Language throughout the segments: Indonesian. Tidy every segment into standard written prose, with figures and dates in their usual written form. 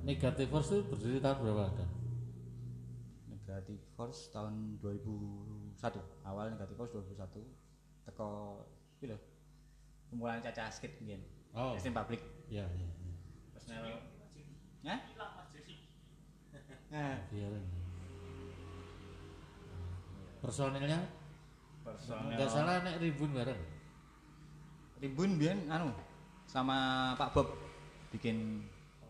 Negative Force itu berdiri tahun berapa ada? Negative Force tahun 2001. Awal Negative Force 2001. Teko iki lho. Kumpulan Caca Skit mbiyen. Oh. Sistem publik. Iya. Personel. Hah? Nah, Biarin. Personilnya personel enggak salah nek Rimbun bareng. Rimbun mbiyen anu sama Pak Bob bikin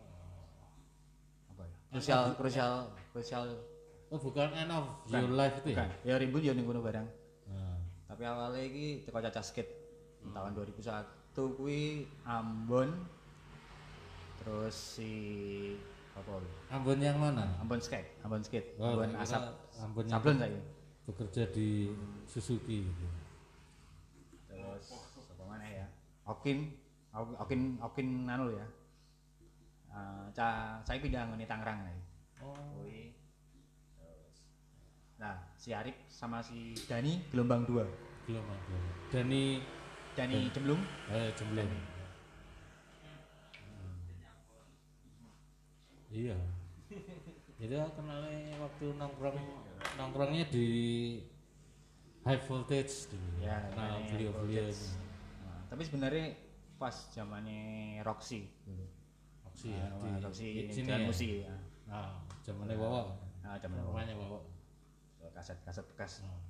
apa ya? Krusial. Oh, bukan End of Your Life itu ya? Bukan. Ya Rimbun ya ning kono barang. Nah. Tapi awalnya iki teko Caca Skit tahun 2001 kuwi Ambon. Terus si apa? Ambon yang mana? Ambon Skate. Oh, Ambon Asap. Ambon yang Sablon saiki. bekerja di Suzuki gitu. Terus apa mana ya? Okin anu ya. Saya pindah ngene Tangerang nih. Oh. Kuwi. Terus. Nah, si Arif sama si Dani gelombang 2. Gelombang 2. Dani Jemblung. Jemblung. Iya. Jadi aku kenalnya waktu nongkrongnya di High Voltage dulu. Ya, nah, High beliau Voltage. Nah, tapi sebenarnya pas zamannya Roxy dulu. Roxy ya, di Roxy sini Jalan ya. Musi ya. Nah, zamannya Wawa. Nah, zamannya Wawa. Namanya Wawa. Kaset bekas. Nah.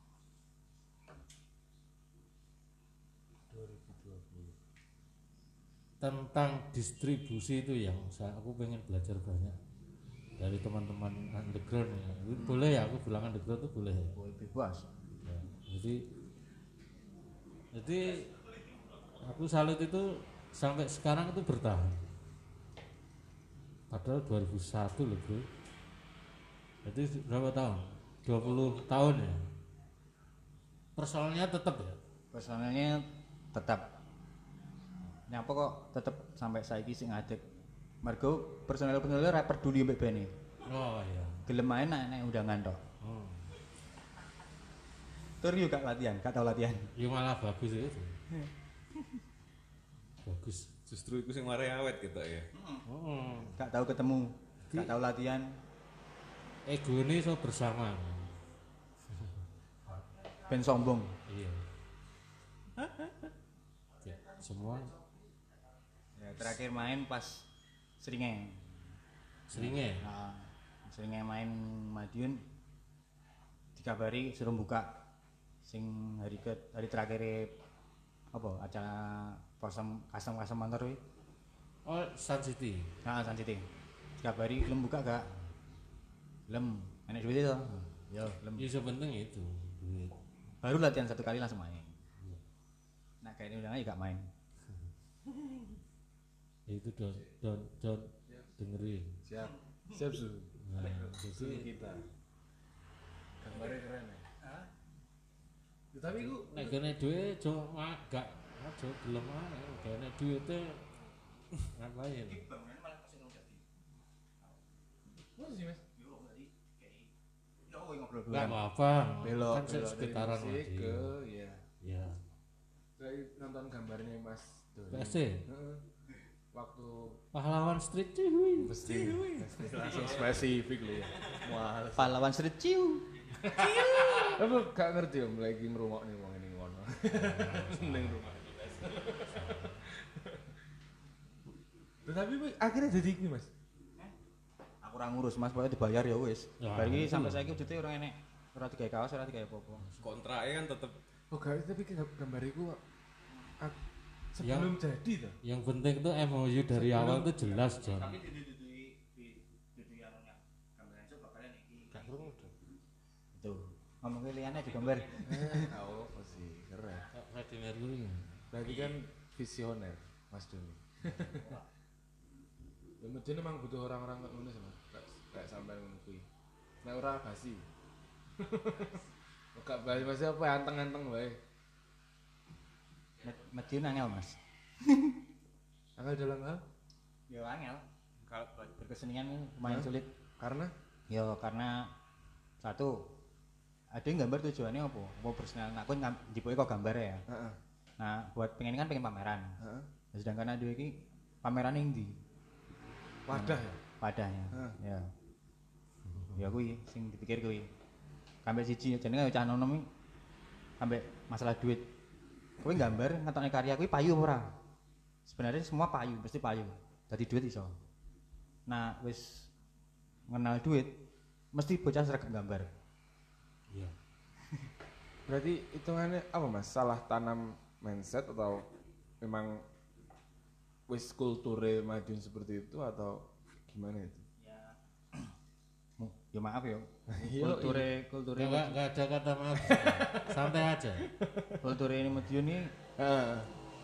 2020. Tentang distribusi itu yang aku pengen belajar banyak dari teman-teman underground ya. Boleh ya aku bilang underground itu boleh ya? Boleh bebas. Ya, jadi aku salut itu sampai sekarang itu bertahan. Padahal 2001 loh bro. Jadi berapa tahun? 20 tahun ya. Personalnya tetap ya. Personalnya tetap. Nyapa kok tetap sampai saiki sing ngadeg. Mergo personel-personelnya ra peduli mbek band. Oh iya. Gelem ae nek undangan tok. Oh. Tur yo gak latihan, gak tau latihan. Ya malah bagus itu. Bagus. Justru itu sing mari awet gitu ya. Oh. Gak tau ketemu, gak tau latihan. Ego ini so bersama. Ben sombong. Iya. Ya, semua Ya, terakhir main pas Seringe. seringnya. Nah, Seringe main Madiun dikabari suruh buka sing hari terakhir apa acara kasem motor kuwi. Oh, Sun City. Nah, Sun City. Dikabari belum buka gak? Belum. Enak duit itu. Ya, belum. Ya sepenting itu duit. Baru latihan 1 kali langsung main. Nah, kayak ini udah gak main. Ya itu don dengerin. Siap su. Nah, Susu jadi kita. Gambarnya keren ya. Ya, tapi ku nek gene duwe jo magak, aja gelem ae, gene duwite ngapain? Mana sih Mas? Enggak apa-apa. Belok Kan sekitaran musik lagi. ke ya. Ya. Saya nonton gambarnya Mas Doni. PSC. Heeh. Waktu Pahlawan Street cuy. mesti langsung spesifik loh ya. Mual. Pahlawan Street Ciu. Aku gak ngerti om lagi merungokne wong ini ngono. Ning rumah. Tetapi akhirnya jadi ini Mas. Aku ora ngurus Mas, pokoke dibayar ya wis. Ya, Bar iki itu sampai lho. saiki wujute ora enek. Ora digawe kaos, ora digawe apa-apa. Kontraknya kan tetep oh gak tapi gambar iku Yang- sebelum jadi tuh. Yang penting tuh MOU dari awal tuh jelas, John. Tapi dudu yang gambaran itu bakalan iki. Gak krungu dong. Itu. Ngomongke liyane di gambar. Oh, sih keren. Freddie Mercury. Berarti kan visioner Mas Doni. Ya mungkin emang butuh orang-orang kayak ngono sih Mas. Kayak sampai ngono kuwi. Nek ora basi. Gak basi masih apa anteng-anteng wae. Mediun angel Mas. Angel dalam hal Ya angel. Kalau berkesenian ini lumayan sulit. karena Ya karena satu ada yang gambar tujuannya apa? Mau personal aku dipoke kok gambar ya. heeh. Nah, buat pengen kan pengen pameran. Heeh. Sedangkan ada iki pameran yang di Wadah ya. padahnya. Ya. Ya kuwi sing dipikir kuwi. Ambek siji jenenge cah nom ambek masalah duit. Kowe gambar ngetokne karya kuwi payu ora? Sebenarnya semua payu, pasti payu. Dadi duit iso. Nah, wis ngenal duit mesti bocah sregep gambar. Iya. Berarti hitungannya apa Mas? Salah tanam mindset atau memang wis kulture maju seperti itu atau gimana itu? Ya maaf ya. Iya, Kulture Enggak ada kata maaf. Santai aja. kulture ini Madiun ini Heeh.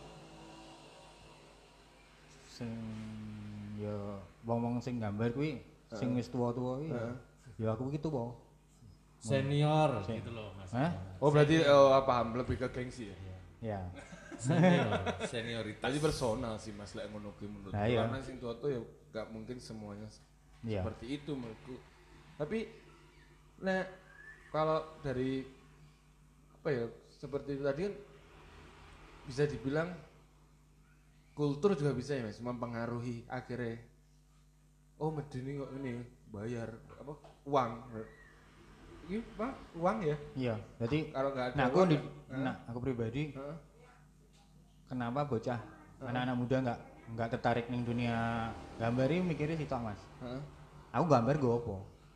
sing ya wong-wong sing gambar kuwi sing wis tuwa-tuwa kuwi ya aku iki tuwa. Senior gitu loh Mas. Hah? Oh berarti paham lebih ke gengsi ya? Ya. Senior. Senioritas. Tadi personal sih Mas lek ngono kuwi menurut. Nah, iya. Karena sing tua-tua ya gak mungkin semuanya Iya. seperti itu menurutku. Tapi nah kalau dari apa ya seperti itu tadi kan bisa dibilang kultur juga bisa ya Mas mempengaruhi akhirnya oh medeni kok ini bayar apa uang ini apa uang ya Iya, jadi kalau nggak ada nah uang, aku pribadi Heeh. kenapa bocah anak-anak muda nggak tertarik ning dunia gambar ini mikirnya sitok Mas. Heeh. Aku gambar gue apa?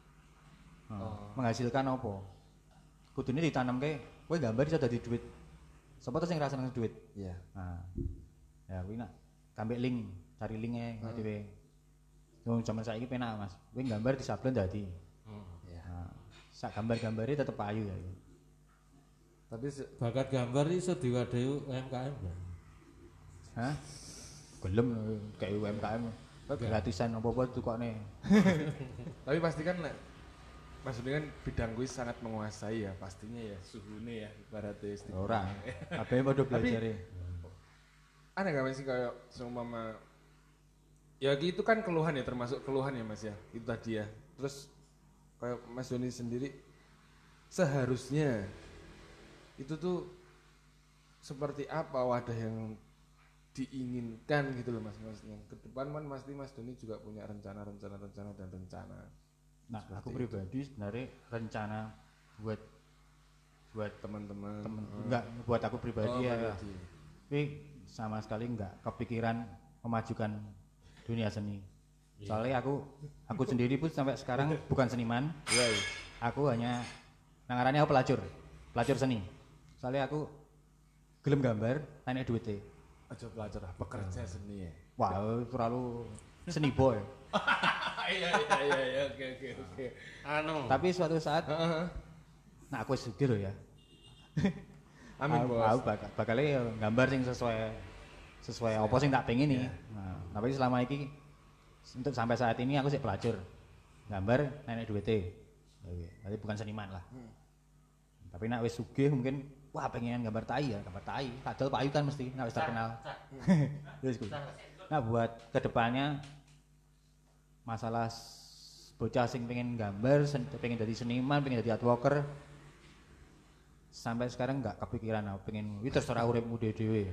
Oh. Menghasilkan apa? Kudune ditanamke kowe gambar iso dadi duit. Sopo tuh sing rasane duit? Iya. Nah. Ya kuwi nak kambek link, cari linknya dhewe. Wong jaman saiki penak Mas. Kowe gambar disablon dadi. Iya. Nah, sak gambar-gambare tetep ayu ya. Tapi Bakat gambar iso diwadahi UMKM kan? Hah? Gelem kayak UMKM. Gratisan apa-apa tukokne. tapi pasti kan maksudnya kan bidang gue sangat menguasai ya pastinya ya suhune ya ibaratnya Ora. Kabeh padha belajar. Ada nggak sih kayak seumpama ya itu kan keluhan ya termasuk keluhan ya Mas ya itu tadi ya terus kayak Mas Doni sendiri seharusnya itu tuh seperti apa wadah yang diinginkan gitu loh Mas maksudnya ke depan kan pasti Mas Doni juga punya rencana dan rencana. Nah, Seperti aku pribadi sebenarnya rencana buat teman-teman enggak buat aku pribadi ya. pribadi. Tapi sama sekali enggak kepikiran memajukan dunia seni. Soalnya aku sendiri pun sampai sekarang bukan seniman. Iya. Aku hanya nangarannya aku pelacur seni. Soalnya aku gelem gambar, enek duitnya. Aja pelajar pekerja seni ya. Wah, terlalu seni boy. Iya oke. Anu. Tapi suatu saat nah aku sugih loh ya. Amin Aku bos. bakal gambar sing sesuai apa sing tak pengen nih. Nah, tapi selama ini untuk sampai saat ini aku sih pelacur. Gambar nenek duitnya. Jadi bukan seniman lah. Tapi nak wis sugih mungkin wah pengen gambar tai ya, gambar tai. Padahal payu kan mesti nak wis terkenal. Terus nah buat kedepannya masalah bocah sing pengen gambar, pengen jadi seniman, pengen jadi artworker sampai sekarang nggak kepikiran aku pengen wih terserah uripmu dhewe.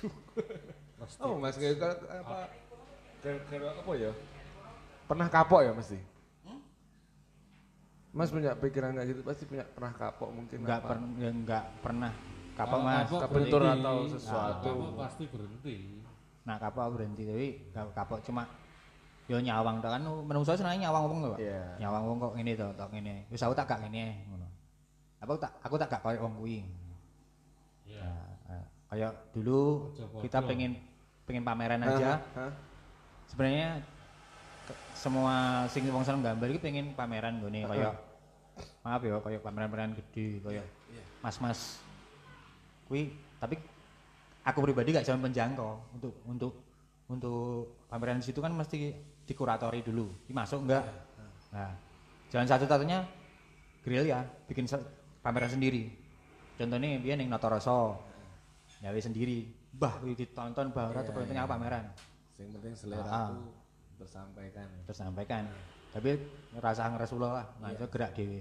Oh Mas kayak apa? Gara-gara apa ya? Pernah kapok ya mesti? Mas punya pikiran kayak gitu pasti pernah kapok mungkin Nggak pernah kapok Kalau Mas. kapok kebentur berhenti. atau sesuatu. Kapok pasti berhenti. Nah kapok berhenti tapi nggak kapok cuma yo nyawang tok kan menungso senenge nyawang wong kok. Iya. Nyawang wong kok ngene to, tok ngene. Wis aku tak gak ngene ngono. Aku tak gak koyo wong kuwi. Iya. Kayak dulu Podo-podo. kita pengen pameran aja. Sebenarnya semua sing wong seneng gambar iki pengen pameran nggone kayak maaf ya kayak pameran-pameran gede kayak mas-mas kuwi tapi aku pribadi gak jalan penjangkau untuk pameran situ kan mesti dikuratori dulu. Ini masuk enggak? Nah, jalan satu-satunya grill ya, bikin pameran sendiri. Contohnya dia ning Notoroso. Nyawe sendiri. Bah, ditonton bahwa pentingnya pameran. Yang penting selera itu Tersampaikan. Tapi rasa ngresula lah, nah itu gerak dhewe.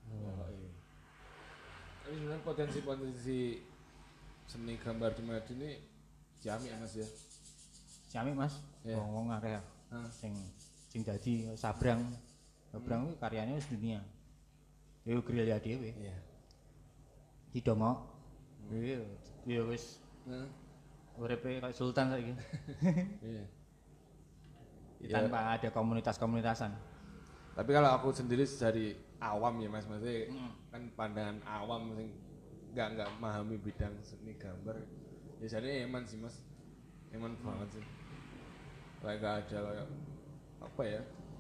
Tapi sebenarnya potensi seni gambar di Madiun ini ciamik ya Mas ya. Ciamik Mas, Iya. wong akeh sing sing dadi Sabrang kuwi karyane wis dunia. Yo gerilya dhewe. Iya. Didomok. Yo wis uripe kayak sultan saiki. Iya. Tanpa ada komunitas-komunitasan. Tapi kalau aku sendiri dari awam ya Mas, maksudnya kan pandangan awam sing nggak memahami bidang seni gambar. Biasanya eman sih Mas, eman banget sih. Kayak nggak ada kayak apa ya?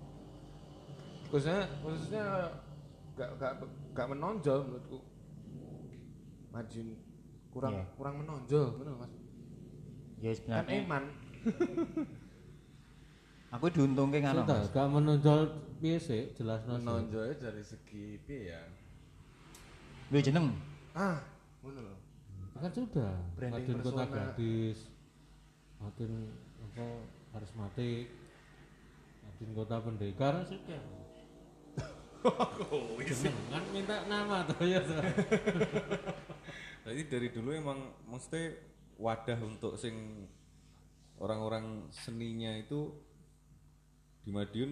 Khususnya nggak menonjol menurutku. Majun kurang menonjol, bener Mas. Ya Kan sebenarnya eman. aku diuntungke ngono. Sudah, gak menonjol piye sih jelasno. Menonjolnya dari segi piye ya? Duwe jeneng. Ngono lho. Kan sudah. Branding Raden Kota persona. Gadis. Raden apa karismatik. Raden Kota Pendekar sudah. Jeneng kan minta nama tuh ya. Jadi dari dulu emang mesti wadah untuk sing orang-orang seninya itu di Madiun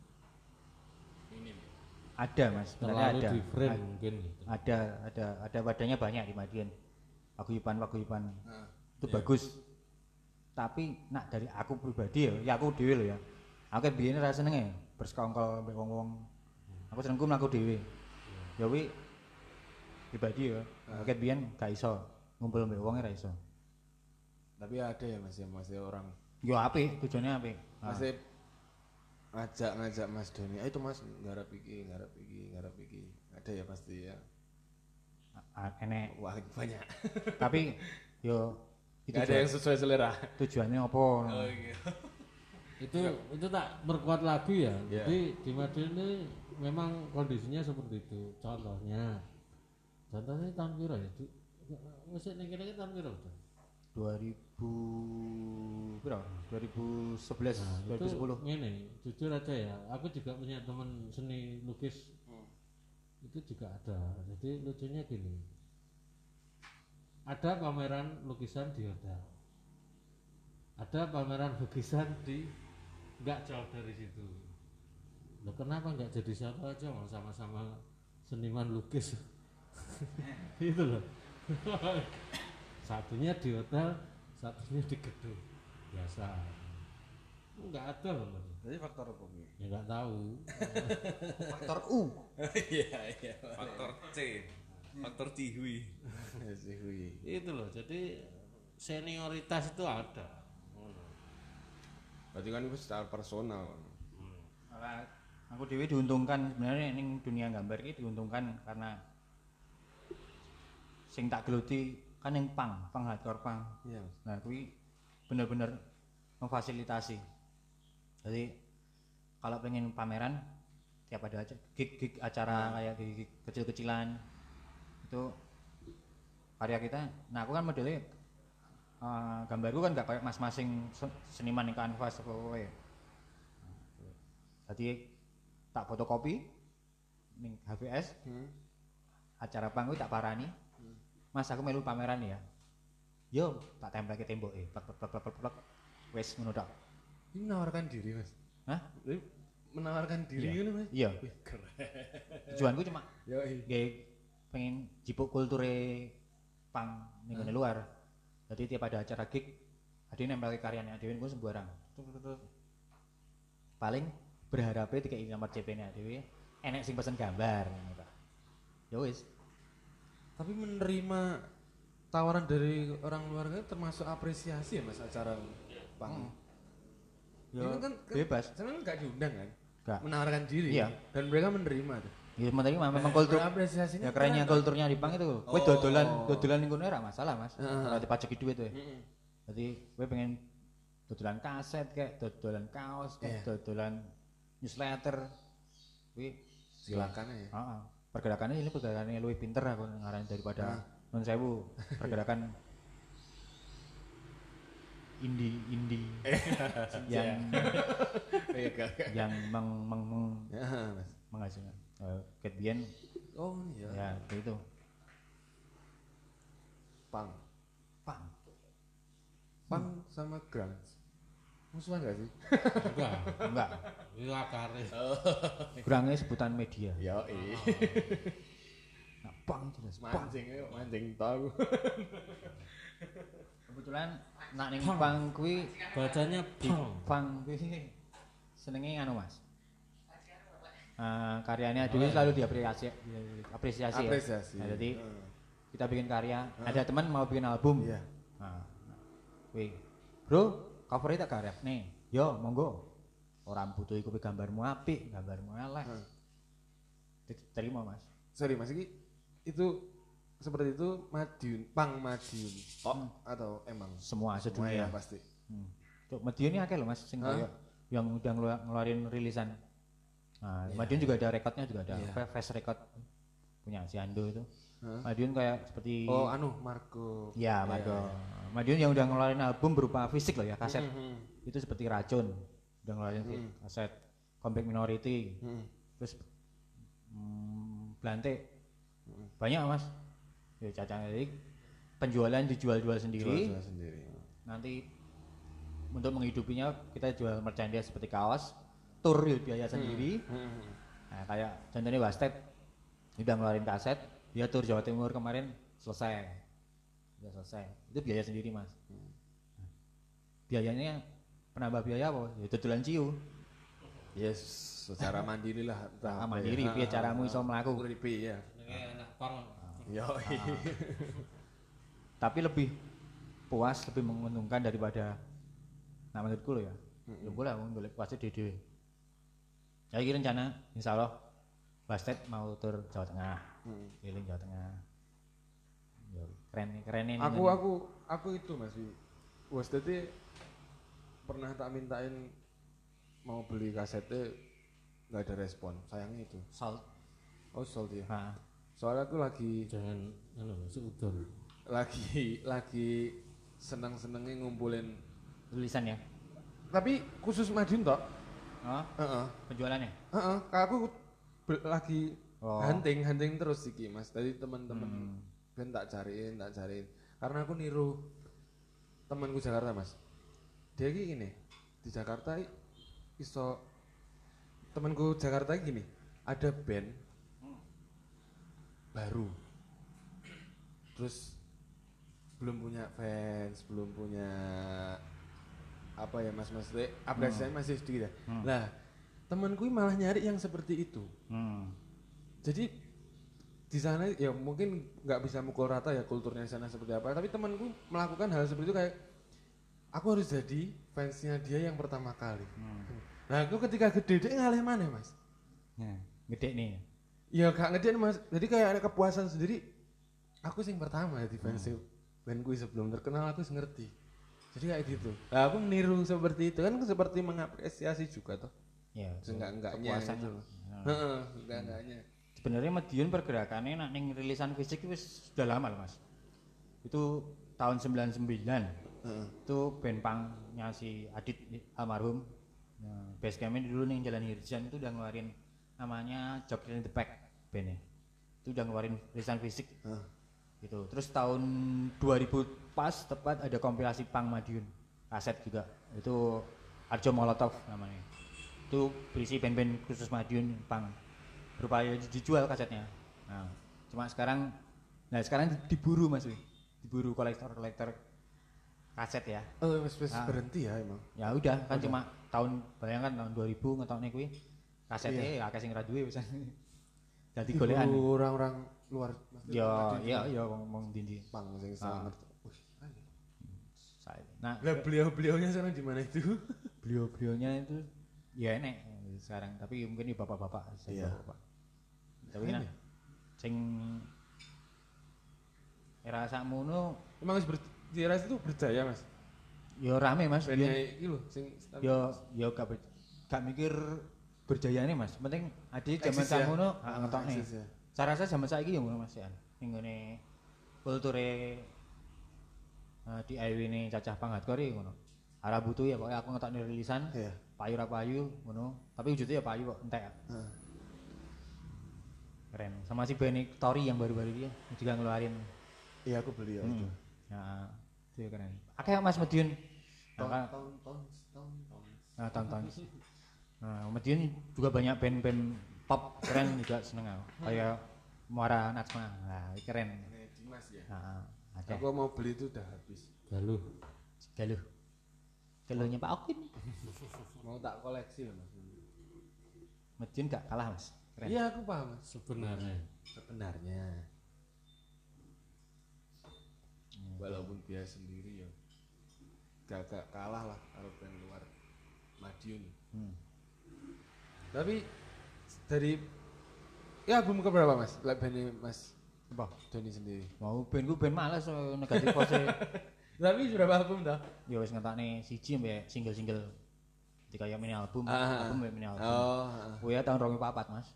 Ada Mas, sebenarnya Terlalu ada. di frame mungkin gitu. Ada wadahnya banyak di Madiun. Paguyuban. Itu Iya. bagus. Tapi nak dari aku pribadi ya aku dhewe lho ya. Aku kan biyen ra senenge bersekongkol mbek wong-wong. Aku senengku mlaku dhewe. Ya kuwi pribadi ya. Aku kan biyen gak iso ngumpul mbek wong ra iso. Tapi ada ya Mas ya, masih orang Yo apik, tujuannya apik. masih ngajak Mas Doni. Itu Mas garap iki. Ada ya pasti ya. Enek. Wah, banyak. Tapi yo Gak ada yang sesuai selera. tujuannya apa? iya. Itu tak perkuat lagi ya. Iya. Jadi di Madiun ini memang kondisinya seperti itu. Contohnya tahun piro ya? Musik ning kene tahun piro? 2000 berapa? 2011, Nah, 2010. Ngene, jujur aja ya. Aku juga punya teman seni lukis. Itu juga ada. Jadi lucunya gini. Ada pameran lukisan di hotel. Ada pameran lukisan di nggak jauh dari situ. Loh kenapa nggak jadi satu aja mau sama-sama seniman lukis? Itu loh. Satunya di hotel, satunya di gedung biasa. Nggak ada loh. jadi faktor apa Bu? Ya nggak tahu. Faktor U. Iya. Faktor C, faktor Cihui. Itu loh. Jadi senioritas itu ada. Berarti kan itu secara personal. Malah aku dewi diuntungkan sebenarnya ning dunia gambar ini diuntungkan karena sing tak geluti kan yang pang hardcore pang. Iya. Nah, kuwi bener-bener memfasilitasi. Jadi kalau pengen pameran tiap ada aja gig acara kayak gig kecil-kecilan itu karya kita. Nah, aku kan modelnya gambarku kan nggak kayak masing-masing seniman yang kanvas apa apa ya. Jadi tak fotokopi ning HVS acara pang kuwi tak parani. Mas aku melu pameran ya. Yo tak tempel ke tembok plek wis ngono tok. Ini menawarkan diri Mas. Hah? Ini menawarkan diri gitu Mas. Iya. Wih, keren. Tujuanku cuma Yoi. nggih pengen jipuk kulture pang ning ngene luar. Jadi tiap ada acara gig ada nempel ke karyanya dhewe niku sembarang. Paling berharapnya dikai nomor CP-ne dhewe enek sing pesen gambar ngono ta. Ya wis. Tapi menerima tawaran dari orang luar kan termasuk apresiasi ya Mas acara pang. Ya Ini kan bebas. Sebenarnya nggak diundang kan? Enggak. Menawarkan diri. Iya. Dan mereka menerima tuh. Ya memang kultur. Apresiasinya Ya kerennya keren, kulturnya di pang itu. Kowe dodolan ning kono ora masalah, Mas. Ora dipajeki duit kowe. Jadi kowe pengen dodolan kaset kayak dodolan kaos, kayak dodolan newsletter. Kuwi Silakan ya. heeh. Pergerakannya ini pergerakannya lebih pinter aku ngarani daripada non sewu pergerakan indie yang yang Ya, Mas. menghasilkan Cat Bien Oh iya. ya kayak itu Pang. pang Pang sama grunge. Musuhan gak sih? Enggak. Itu akare. Kurangnya sebutan media. Yo, Nah, bang jelas. Bang. mancing tahu. Kebetulan nak ning pang kuwi Bacanya pang kuwi senenge anu Mas. Karyanya dulu selalu apresiasi ya. Nah, jadi kita bikin karya, ada teman mau bikin album. Iya. Nah, wih, bro, covernya tak karep nih. Yo, monggo. Orang butuh iku gambarmu apik, gambarmu elek. Terima Mas. Sorry Mas itu seperti itu Pang Madiun. Atau emang Semua ya sedunia. pasti. Tuh, Madiun ini akeh loh Mas, sing kayak yang udah ngeluarin rilisan. Nah, Madiun juga ada rekodnya juga ada. Fast record punya si Ando itu. Madiun kayak seperti Marco. Ya, Marco. Madiun yang udah ngeluarin album berupa fisik loh ya, kaset. Itu seperti Racun. Udah ngeluarin kaset Compact Minority. Terus Blante. Banyak Mas. Ya cacang jadi penjualan dijual-jual sendiri. Nanti untuk menghidupinya kita jual merchandise seperti kaos, tur biaya sendiri. Nah, kayak contohnya Wasted udah ngeluarin kaset, dia tur Jawa Timur kemarin selesai. Udah selesai. Itu biaya sendiri Mas. Biayanya penambah biaya apa? Ya dodolan ciu. Yes, secara mandiri lah. Mandiri, piye caramu iso mlaku? Ya. anak pang. Yo. Tapi lebih puas, lebih menguntungkan daripada nah menurutku loh ya. Ya boleh golek puasnya dhewe. Ya iki rencana insyaallah Bastet mau tur Jawa Tengah. Keliling Jawa Tengah. Yo keren ini. Aku itu Mas. Bastet pernah tak mintain mau beli kasetnya nggak ada respon, sayangnya itu. Salt. Oh Salt ya. Nah. Soalnya aku lagi Jangan seudon. lagi seneng-senengnya ngumpulin Tulisan ya. tapi khusus Madiun toh. Penjualannya. Aku lagi hunting terus iki Mas. Tadi teman-teman ben tak cariin karena aku niru temanku Jakarta Mas. Dia gini di Jakarta iso temanku Jakarta gini ada band baru terus belum punya fans, belum punya apa ya Mas apresiasinya masih sedikit ya. Lah temanku malah nyari yang seperti itu. Jadi di sana ya mungkin nggak bisa mukul rata ya kulturnya di sana seperti apa, tapi temanku melakukan hal seperti itu kayak aku harus jadi fansnya dia yang pertama kali. Nah aku ketika gede dia ngalih mana Mas? Gede nih. Ya gak ngede Mas. Jadi kayak ada kepuasan sendiri. Aku sing pertama di fans bandku sebelum terkenal aku ngerti. Jadi kayak gitu. Nah, aku meniru seperti itu kan seperti mengapresiasi juga toh. Ya, enggaknya gitu. Enggaknya. Sebenarnya Madiun pergerakannya nak ning rilisan fisik itu sudah lama loh Mas. Itu tahun 99. Itu band pangnya si Adit almarhum. Basecampnya dulu nih Jalan Hirjan itu udah ngeluarin namanya Joker in the Pack bandnya. Itu udah ngeluarin rilisan fisik. Gitu. Terus tahun 2000 pas tepat ada kompilasi pang Madiun. Kaset juga. Itu Arjo Molotov namanya. Itu berisi band-band khusus Madiun pang. Berupaya dijual kasetnya. Nah, cuma sekarang diburu Mas. Diburu kolektor kaset ya. Berhenti ya emang. Ya udah kan cuma bayangkan tahun 2000 ngetokne kuwi kasetnya akeh sing ra duwe wis. Dadi golekan. Orang-orang luar. Ya ngomong dindi. Pang sing sangat. Nah, beliau-beliaunya sana di mana itu? Beliau-beliaunya itu ya enek sekarang, tapi mungkin di bapak-bapak. Bapak. Tapi nah, sing era sakmono emang di era itu berjaya Mas. Ya rame Mas. Iki lho sing ya gak mikir berjayane Mas. Penting ade jaman sakmono ngetokne. Saya rasa zaman saiki ya ngono Mas ya. Ning ngene kulture di IW ini cacah panghatkore ngono. Arah butuh ya pokoknya aku ngetokne rilisan. Payu ra payu ngono. Tapi wujudnya ya payu kok entek. Keren. Sama si Benny Tori yang baru-baru dia juga ngeluarin. Iya aku beli ya itu. Ya, itu ya keren. Akeh Mas Madiun. Tahun Nah, tonton. Nah, Madiun juga banyak band-band pop keren juga seneng aku. Kayak Muara Najma. Nah, keren. Dimas ya. Nah, ada. Aku mau beli itu udah habis. Galuh. Galuhnya Pak Okin. Mau tak koleksi loh Mas. Madiun gak kalah, Mas. Keren. Iya, aku paham Mas. Sebenarnya. Walaupun dia sendiri ya gak kalah lah kalau band luar Madiun. Tapi dari ya album keberapa Mas? Bandnya Mas Apa? Doni sendiri. Mau band males so negatif pose. Tapi berapa album dah? Ya wis ngetokne siji mbek single-single. Jadi kayak mini album mbek mini album. Oh ya tahun 2004, Mas.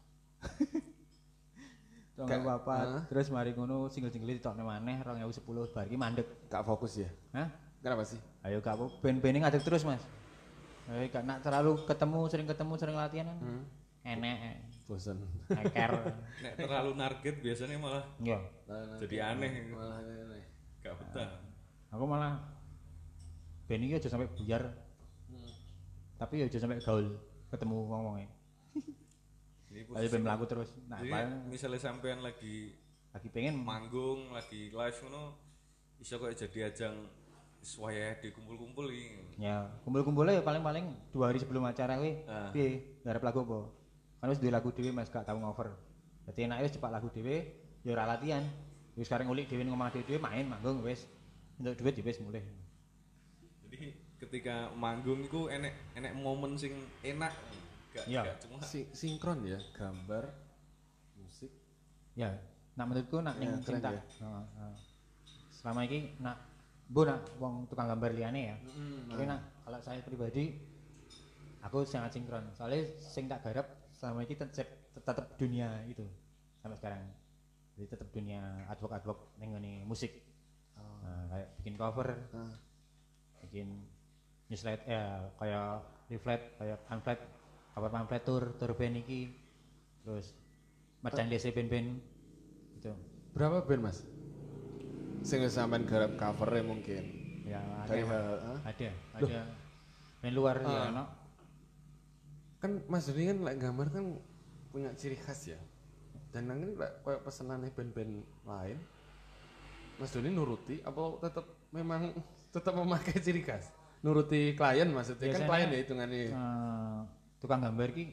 Tahun 2004. Terus mari ngono single-single ditokne maneh 2010 bar iki mandek. Gak fokus ya? Hah? Kenapa sih? Ayo gak band-band ngadeg terus, Mas. Ayo gak nak terlalu sering ketemu, sering latihan kan. Enek. Bosen. Eker. Nek terlalu target biasanya malah Iya. jadi aneh. Malah aneh. Gak betah. Aku malah band iki aja sampai buyar. Tapi aja sampai gaul ketemu wong-wonge. Ayo ben mlaku terus. Nah, jadi misalnya sampean lagi pengen manggung, lagi live ngono iso kok jadi ajang wayah dikumpul-kumpul iki. Ya, kumpul-kumpulnya ya paling-paling 2 hari sebelum acara kuwi. Piye? Garap lagu apa? Kan wis duwe lagu dhewe Mas, gak tau ngover. Dadi enake wis cepak lagu dhewe, ya ora latihan. Wis sekarang ngulik dhewe ning omah dhewe main manggung wis. Entuk duit ya wis mulih. Jadi ketika manggung iku enek momen sing enak. Gak cuma Sinkron ya, gambar, musik. Ya, nak menurutku nak ning keren cinta. ya. Selama iki nak wong tukang gambar liyane ya. Tapi nak kalau saya pribadi aku sangat sinkron. Soalnya sing tak garap selama ini tetap dunia itu sampai sekarang. Jadi tetap dunia advok ning ngene musik. Nah, kayak bikin cover, bikin newsletter ya kayak leaflet, kayak pamflet, cover pamflet tour band iki. Terus merchandise band-band gitu. Berapa band Mas? Sing sampean garap covernya mungkin. Ya Dari ada band luar ya ono. Kan Mas Doni kan lek gambar kan punya ciri khas ya. Dan nanti lek koyo pesenane band-band lain Mas Doni nuruti apa tetap memakai ciri khas? Nuruti klien maksudnya. Biasanya, kan klien ya hitungannya. Tukang gambar ki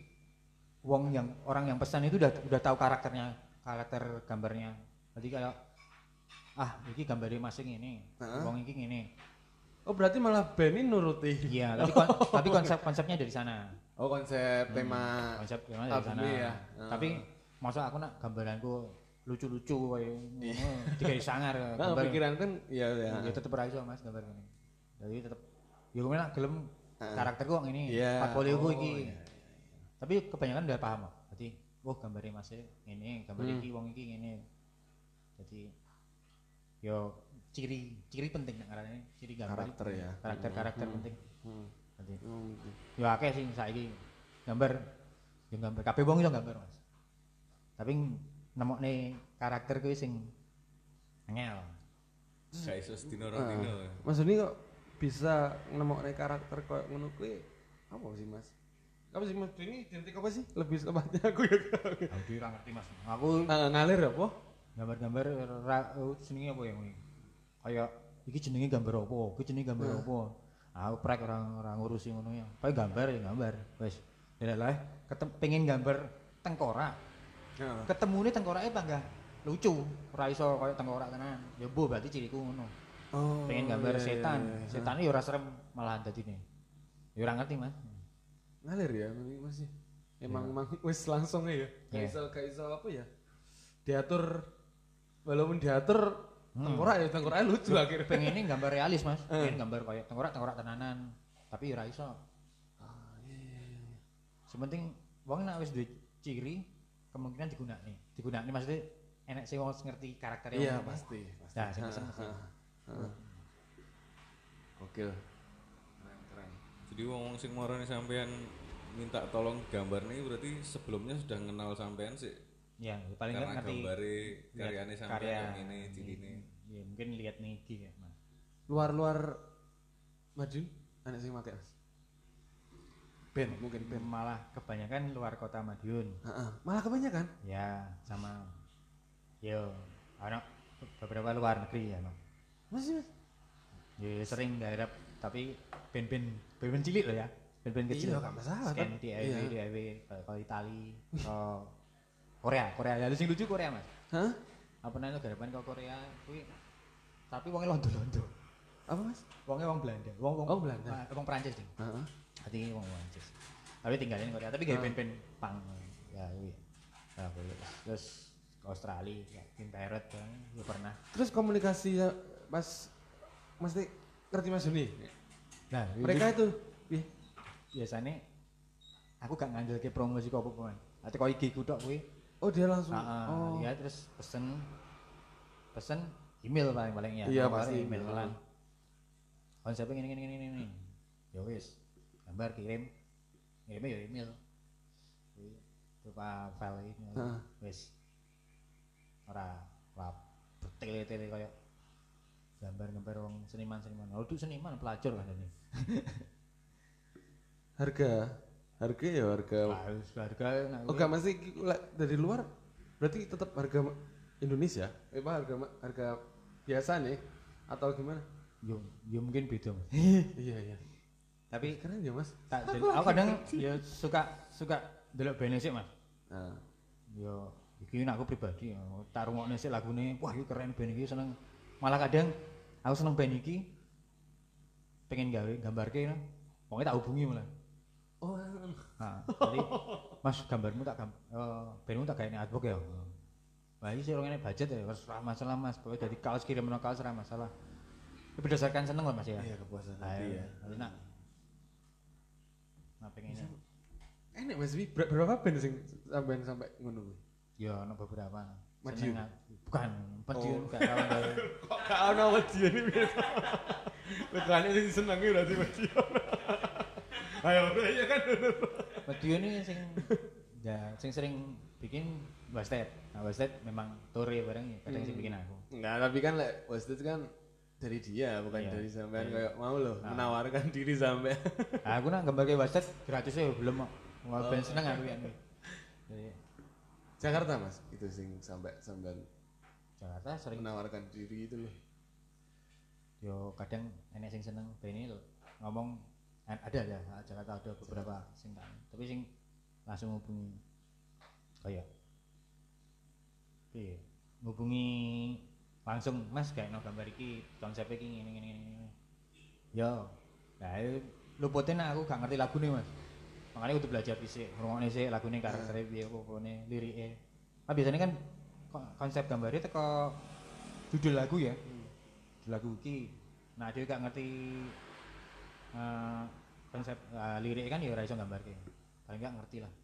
orang yang pesan itu udah tahu karakter gambarnya. Jadi kayak iki gambarnya masing ini, wong iki ngene. Oh berarti malah band ini nuruti. Iya, tapi konsepnya dari sana. Oh konsep tema dari sana. Ya. Tapi masa aku nak gambaranku lucu-lucu kayak ngono digawe sangar gambar. Pikiran kan ya tetep ora iso Mas gambar ngene. Jadi tetep ya gue nak gelem karakterku kok ini, portfolioku iki. Tapi kebanyakan udah paham kok. Jadi gambarnya Mas ngene, gambar iki wong iki ngene. Jadi yo ciri penting nek ngarane ciri gambar. Karakter ya. Karakter penting. Jadi yo akeh sing saiki gambar kabeh wong iso gambar Mas. Tapi nemokne karakter kuwi sing angel. Gak iso sedina rong dino. Mas Doni kok bisa nemokne karakter koyo ngono kuwi apa sih Mas? Apa sih Mas Doni identik apa sih? Lebih tepatnya aku ya. Aku ora ngerti Mas. Aku ngalir apa? Gambar-gambar senenge apa ya kuwi? Kayak iki jenenge gambar apa? Iki jenenge gambar apa? Aku prek ora ngurusi ngono ya. Kayak gambar ya gambar. Wis. Lah pengen gambar tengkorak. Ketemune tengkorake panggah lucu, ora iso koyo tengkorak tenan. Ya mbuh berarti ciriku ngono. Pengen gambar setan. Setane ya ora serem malahan dadine. Ya ora ngerti Mas. Ngalir ya Mas. Emang wis langsung ya. Gak iso apa ya? Diatur walaupun diatur tengkorak lucu akhirnya. Pengen gambar realis Mas. Pengen gambar koyo tengkorak tenanan. Tapi ora iso. Sementing wong nek wis duwe ciri kemungkinan digunakne maksudnya enek sing wong ngerti karakternya. Iya pasti. Nah, sing pesen. Gokil. Keren. Jadi wong sing marani sampean minta tolong gambar nih berarti sebelumnya sudah kenal sampean sih. Ya, paling karena ngerti gambare karyane sampean yang ini cirine. Ya, mungkin lihat nih iki ya, Mas. Luar Madiun anak sing make Mas. band mungkin band. Malah kebanyakan luar kota Madiun. Malah kebanyakan. Ya, sama yo anak beberapa luar negeri ya, Mas. Ya sering garap tapi band cilik loh ya. Band kecil. Iya, gak masalah. Scan DIY kalau Itali, ke Korea. Ya sing lucu Korea, Mas. Hah? Apa namanya garapan ke Korea kuwi tapi wonge londo-londo. Apa Mas? Wonge wong Belanda. Wong Belanda. Wong Prancis ding. Heeh. Hati wong Prancis. Tapi tinggalin Korea, tapi gawe band-band punk. Ya kuwi. Ya kuwi. Terus ke Australia, ya, Kim Parrot kan, ya pernah. Terus komunikasi Mas mesti ngerti Mas Juni. Nah, Mereka itu biasanya aku gak ngandelke promosi kok apa-apa. Ate kok IG ku tok kuwi. oh dia langsung. Ya terus pesen email paling ya. Iya Nomor pasti email kan. Konsepnya gini. Ya wis, gambar kirimnya ya email. Berupa file ini. Wis. Ora bertele-tele kayak gambar-gambar wong seniman. Oh, itu seniman pelacur kan ini. Harga Harga oh gak masih dari luar berarti tetap harga Indonesia harga biasa nih atau gimana? Yo mungkin beda. Iya Tapi keren ya Mas. aku kadang ya suka delok band sik Mas. Nah. Yo iki aku pribadi tak rungokne sik lagune, wah iki keren band iki seneng. Malah kadang aku seneng band iki pengen gawe gambarke wonge tak hubungi malah. Oh. Nah, jadi Mas gambarmu bandmu tak gawe artbook ya. Wah iki sih ngene budget ya, wis ora masalah Mas. Pokoke dadi kaos kirimno kaos ora masalah. Itu berdasarkan seneng lah Mas ya. Iya kepuasan hati ya. Enak. Nah pengen enak Mas berapa band sing sampai ngono kuwi? ya ono beberapa. Madiun? Bukan, Madiun gak tau gawe. Kok gak ono Madiun iki biasa. Lekane sing senenge berarti Madiun. Ayo ya kan. Madiun ini sing sering bikin Wasted. Nah Wasted memang tore bareng ya, kadang sing bikin aku. Enggak, tapi kan Wasted kan dari dia bukan Iya. dari sampean kayak mau loh menawarkan diri sampai. Nah, aku nak gambar ke Wasted gratis ya belum kok. Wah ben seneng aku ya. Jadi Jakarta Mas itu sing sampai sampean Jakarta sering menawarkan diri itu loh. yo kadang enek sing seneng ben ini lho ngomong ada ya Jakarta ada beberapa sing kan tapi sing langsung hubungi kayak piye ngubungi langsung Mas gawe gambar iki konsepnya iki ngene yo nah luputin aku gak ngerti lagune Mas makanya kudu belajar dhisik ngrungokne sik lagune karaktere piye opone lirike biasanya kan konsep gambarnya teko judul lagu ya lagu iki nah dia gak ngerti konsep lirik kan ya ora iso gambarke paling gak ngerti lah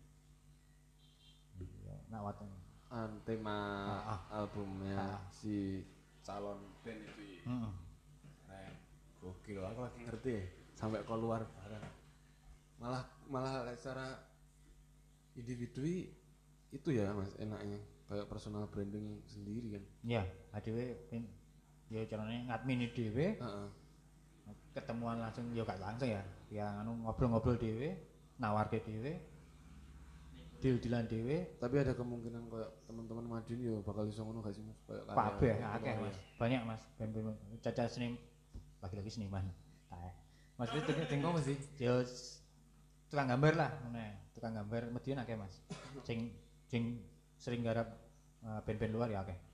nak waton tema albumnya si calon band itu keren gokil aku lagi ngerti sampai keluar bareng malah secara individu itu ya Mas enaknya kayak personal branding sendiri kan ya adewe ya carane ngadmin dhewe ketemuan langsung ya gak langsung ya ngobrol-ngobrol dhewe nawarke dhewe deal-dealan dhewe tapi ada kemungkinan kayak teman-teman Madiun ya bakal iso ngono gak sih Mas kayak kabeh akeh Mas banyak Mas ben caca seni lagi-lagi seniman kae Mas itu tengok Mas sih ya tukang gambar lah tukang gambar Madiun akeh Mas sing sering garap band-band luar ya akeh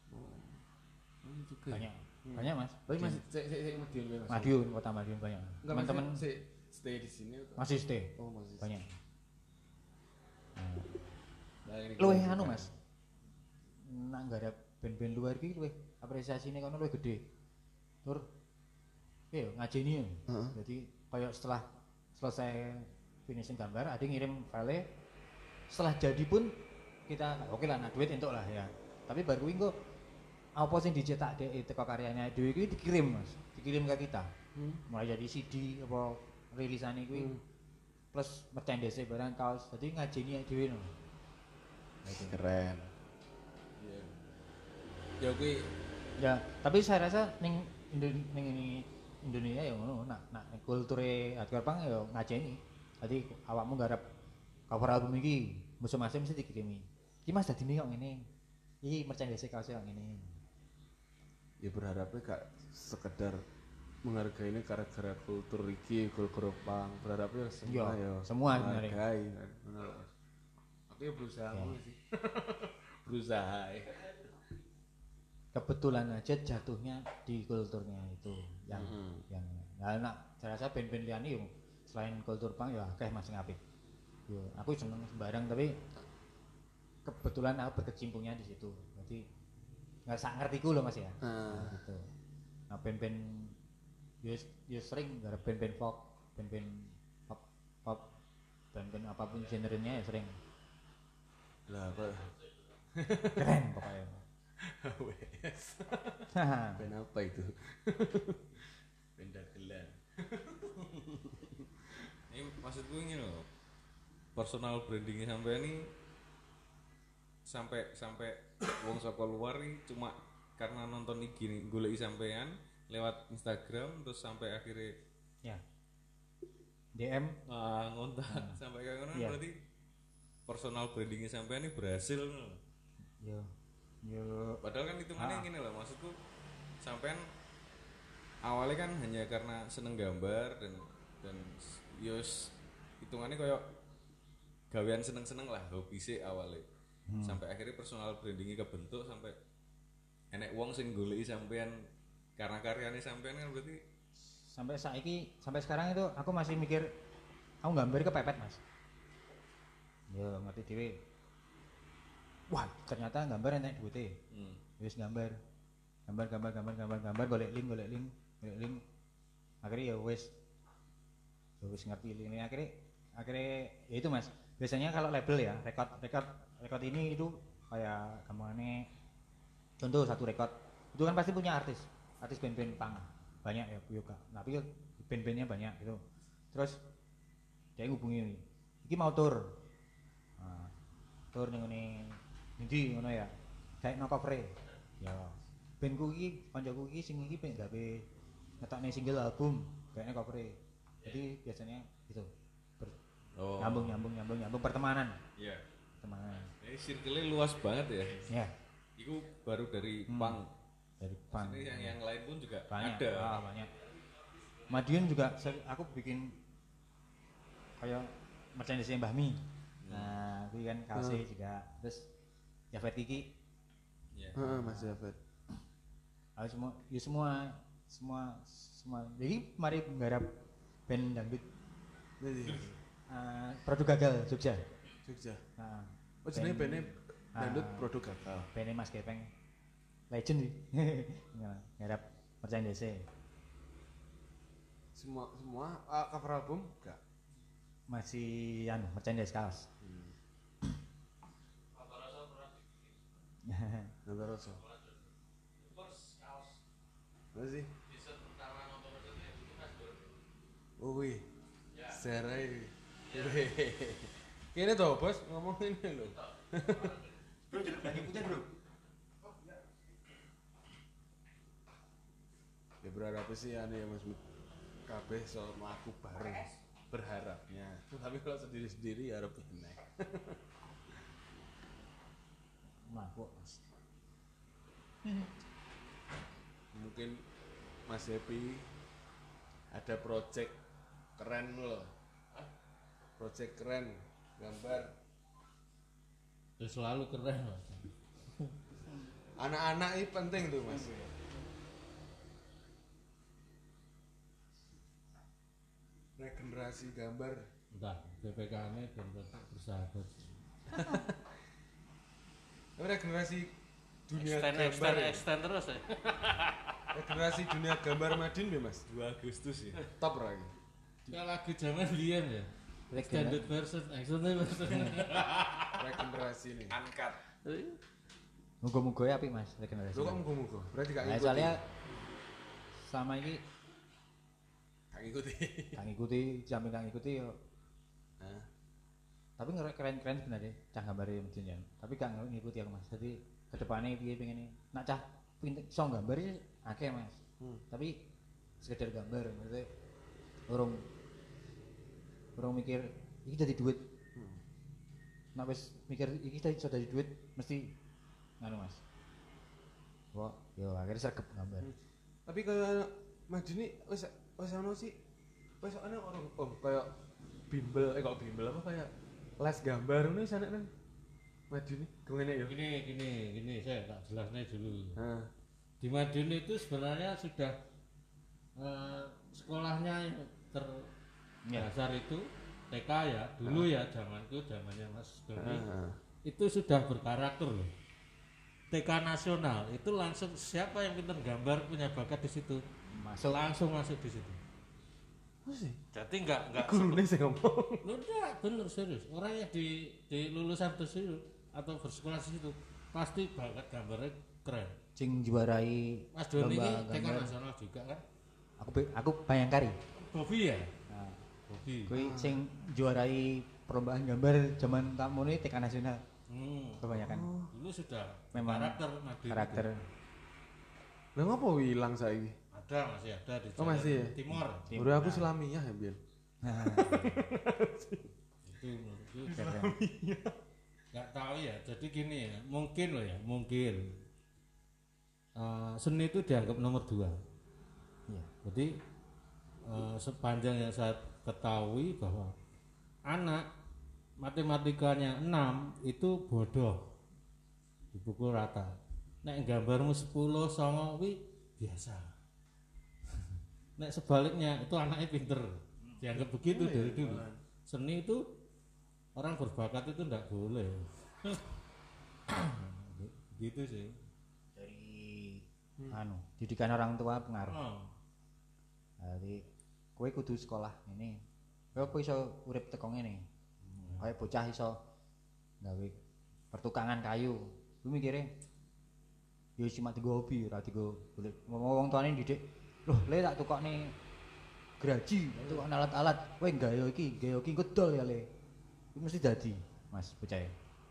banyak Mas tapi masih Madiun Madiun kota Madiun banyak teman-teman stay di sini masih stay masih banyak luwih anu Mas nak garap band-band luar iki luwih apresiasine kono luwih gede tur ngajeni ya jadi kayak setelah selesai finishing gambar ada ngirim file setelah jadi pun kita oke lah nak duit entuk lah ya tapi baru kuwi engko apa sing dicetak teko karyanya dhewe iki dikirim Mas dikirim ke kita mulai jadi CD apa rilisane kuwi plus merchandise barang kaos jadi ngajeni dhewe no keren ya kuwi ya tapi saya rasa ning Indonesia ya ngono nak kulture hardcore punk ya ngajeni Jadi awakmu garap cover album iki masing-masing mesti dikirimi. Iki Mas dadine kok ngene. Iki merchandise kaos kok ngene. Ya berharapnya gak sekedar menghargai ini gara-gara kultur iki, kultur pang. Berharapnya semua ya semua sebenarnya. menghargai kan. Benar. Aku ya berusaha ngono sih. Berusaha. Kebetulan aja jatuhnya di kulturnya itu yang nah, saya rasa band-band liyane yo selain kultur punk ya akeh masing apik. Yo aku seneng sembarang tapi kebetulan aku berkecimpungnya di situ. Jadi nggak sak ngertiku loh Mas ya. Gitu. Nah band-band yo sering garap band-band folk, band-band pop, band-band apapun genrenya ya sering. Lah apa? Keren pokoknya. Wes. Ben apa itu? Ben dagelan. Ini maksudku ini loh, personal brandingnya sampai ini sampai wong saka luar nih cuma karena nonton iki nih goleki sampean lewat Instagram terus sampai akhirnya Ya. DM ngontak sampai kayak ngono Iya. berarti personal brandingnya sampean ini berhasil loh. yo Padahal kan hitungannya gini loh, maksudku sampean awalnya kan hanya karena seneng gambar dan yos hitungannya kayak gawean seneng-seneng lah, hobi sih awalnya. Sampai akhirnya personal brandingnya kebentuk sampai enek wong sing goleki sampean karena karyanya sampean kan berarti sampai sekarang itu aku masih mikir aku gambar kepepet Mas. Yo ngerti dhewe. Wah, ternyata gambar enek duite. Wis gambar golek link. Akhirnya ya wis ngerti ini akhirnya ya itu Mas. Biasanya kalau label ya, record ini itu kayak gampangane contoh satu record itu kan pasti punya artis band-band punk banyak ya Yoga. Tapi band-bandnya banyak gitu. Terus dia ngubungi iki mau tour. Nah, tour ning ngene ndi ngono ya. Kayak no cover ya. Bandku iki kancaku iki sing iki pengen gawe ngetokne single album kayaknya cover. Jadi biasanya gitu. Nyambung pertemanan. iya. Pertemanan. Ini circle-nya luas banget ya. Ya, Itu baru dari punk. dari punk. Maksudnya yang lain pun juga Banyak. ada. Banyak. Madiun juga aku bikin kayak merchandise Mbah Mi. Nah, itu kan kaosnya juga. Terus Jafet Kiki. Iya. Mas Jafet. Aku semua. Jadi mari menggarap band dangdut produk gagal Jogja. Nah, Oh jenenge band dangdut produk gagal. Band Mas Gepeng legend sih. Garap merchandise. Semua cover album enggak? Masih merchandise kaos. Nonton rasa. Masih. Oh wih. Serai. Kene toh bos ngomong ini lho. Bro, lagi punya bro. Ya berharap sih ane ya Mas kabeh soal mlaku bareng berharapnya. Tapi kalau sendiri-sendiri ya harap enak. Mabuk. Mungkin Mas Happy ada project keren loh. Project keren gambar Ya selalu keren Mas. anak-anak ini penting tuh Mas. Regenerasi gambar. Entah BPK-nya dan bersahabat. Regenerasi dunia gambar. Extend terus ya. Regenerasi dunia gambar Madin ya Mas. 2 Agustus ya. Top lagi. Ya lagu zaman Lian ya. Extended version, extended version. Regenerasi ini. Angkat. Muga-muga ya apik Mas regenerasi. Lu kok muga-muga? Berarti gak Nah, ngikuti. soalnya sama ini Gak ngikuti. gak ngikuti, jamin gak ngikuti yo. Hah? Tapi keren-keren sebenarnya cah gambare mungkin ya. Tapi gak ngikuti aku Mas. Jadi kedepannya piye pengen nak cah pinter iso gambar sih akeh Mas. Tapi sekedar gambar maksudnya urung Urung mikir iki dadi duit. Nek wis mikir iki iso dadi duit mesti ngono Mas. Wah, yo akhirnya sergep gambar. Tapi kayak Madini wis ono sih. Wis ono orang kayak bimbel kok bimbel apa kayak les gambar ngono wis ana nang Madini. Gimana ya? Gini, saya tak jelasnya dulu. Heeh. Di Madiun itu sebenarnya sudah sekolahnya yang terdasar itu TK ya, dulu ya zamannya Mas Doni. Itu sudah berkarakter loh. TK nasional itu langsung siapa yang pintar gambar punya bakat di situ langsung masuk di situ. Oh sih. Jadi enggak Gurune sing ngomong. Lu enggak bener serius. Orang yang di lulusan tersebut atau bersekolah di situ pasti bakat gambarnya keren. Sing juarai Mas Doni ini lomba TK gambar. nasional juga kan? Aku Bayangkari. Bobby ya? Nah, Bobby. kuwi sing juarai perlombaan gambar zaman takmune TK nasional kebanyakan. Dulu sudah Memang karakter Madiun. Karakter. Lah ngopo ilang saiki? Masih ada di Oh, masih ya? Timor. Udah aku Islamiyah ya, Bian. Nah, Itu menurutku nggak tahu ya. Jadi gini ya, mungkin loh ya, mungkin seni itu dianggap nomor 2. iya. Jadi sepanjang yang saya ketahui bahwa anak matematikanya 6 itu bodoh, dipukul rata. Nek gambarmu 10 songo kuwi biasa. Nek sebaliknya itu anaknya pinter, dianggap begitu dari dulu. Seni itu orang berbakat itu enggak boleh. Gitu sih. Dari didikan orang tua pengaruh. Oh. Jadi kowe kudu sekolah ini. Kowe apa iso urip teko ngene? Kayak bocah iso gawe pertukangan kayu. Ku mikire ya cuma digo hobi, ora digo golek. Wong tuane didik, "Loh, le tak tukokne graji, tukok alat-alat. Kowe gawe iki engko dol ya, Le." Iku mesti dadi, Mas, bocah.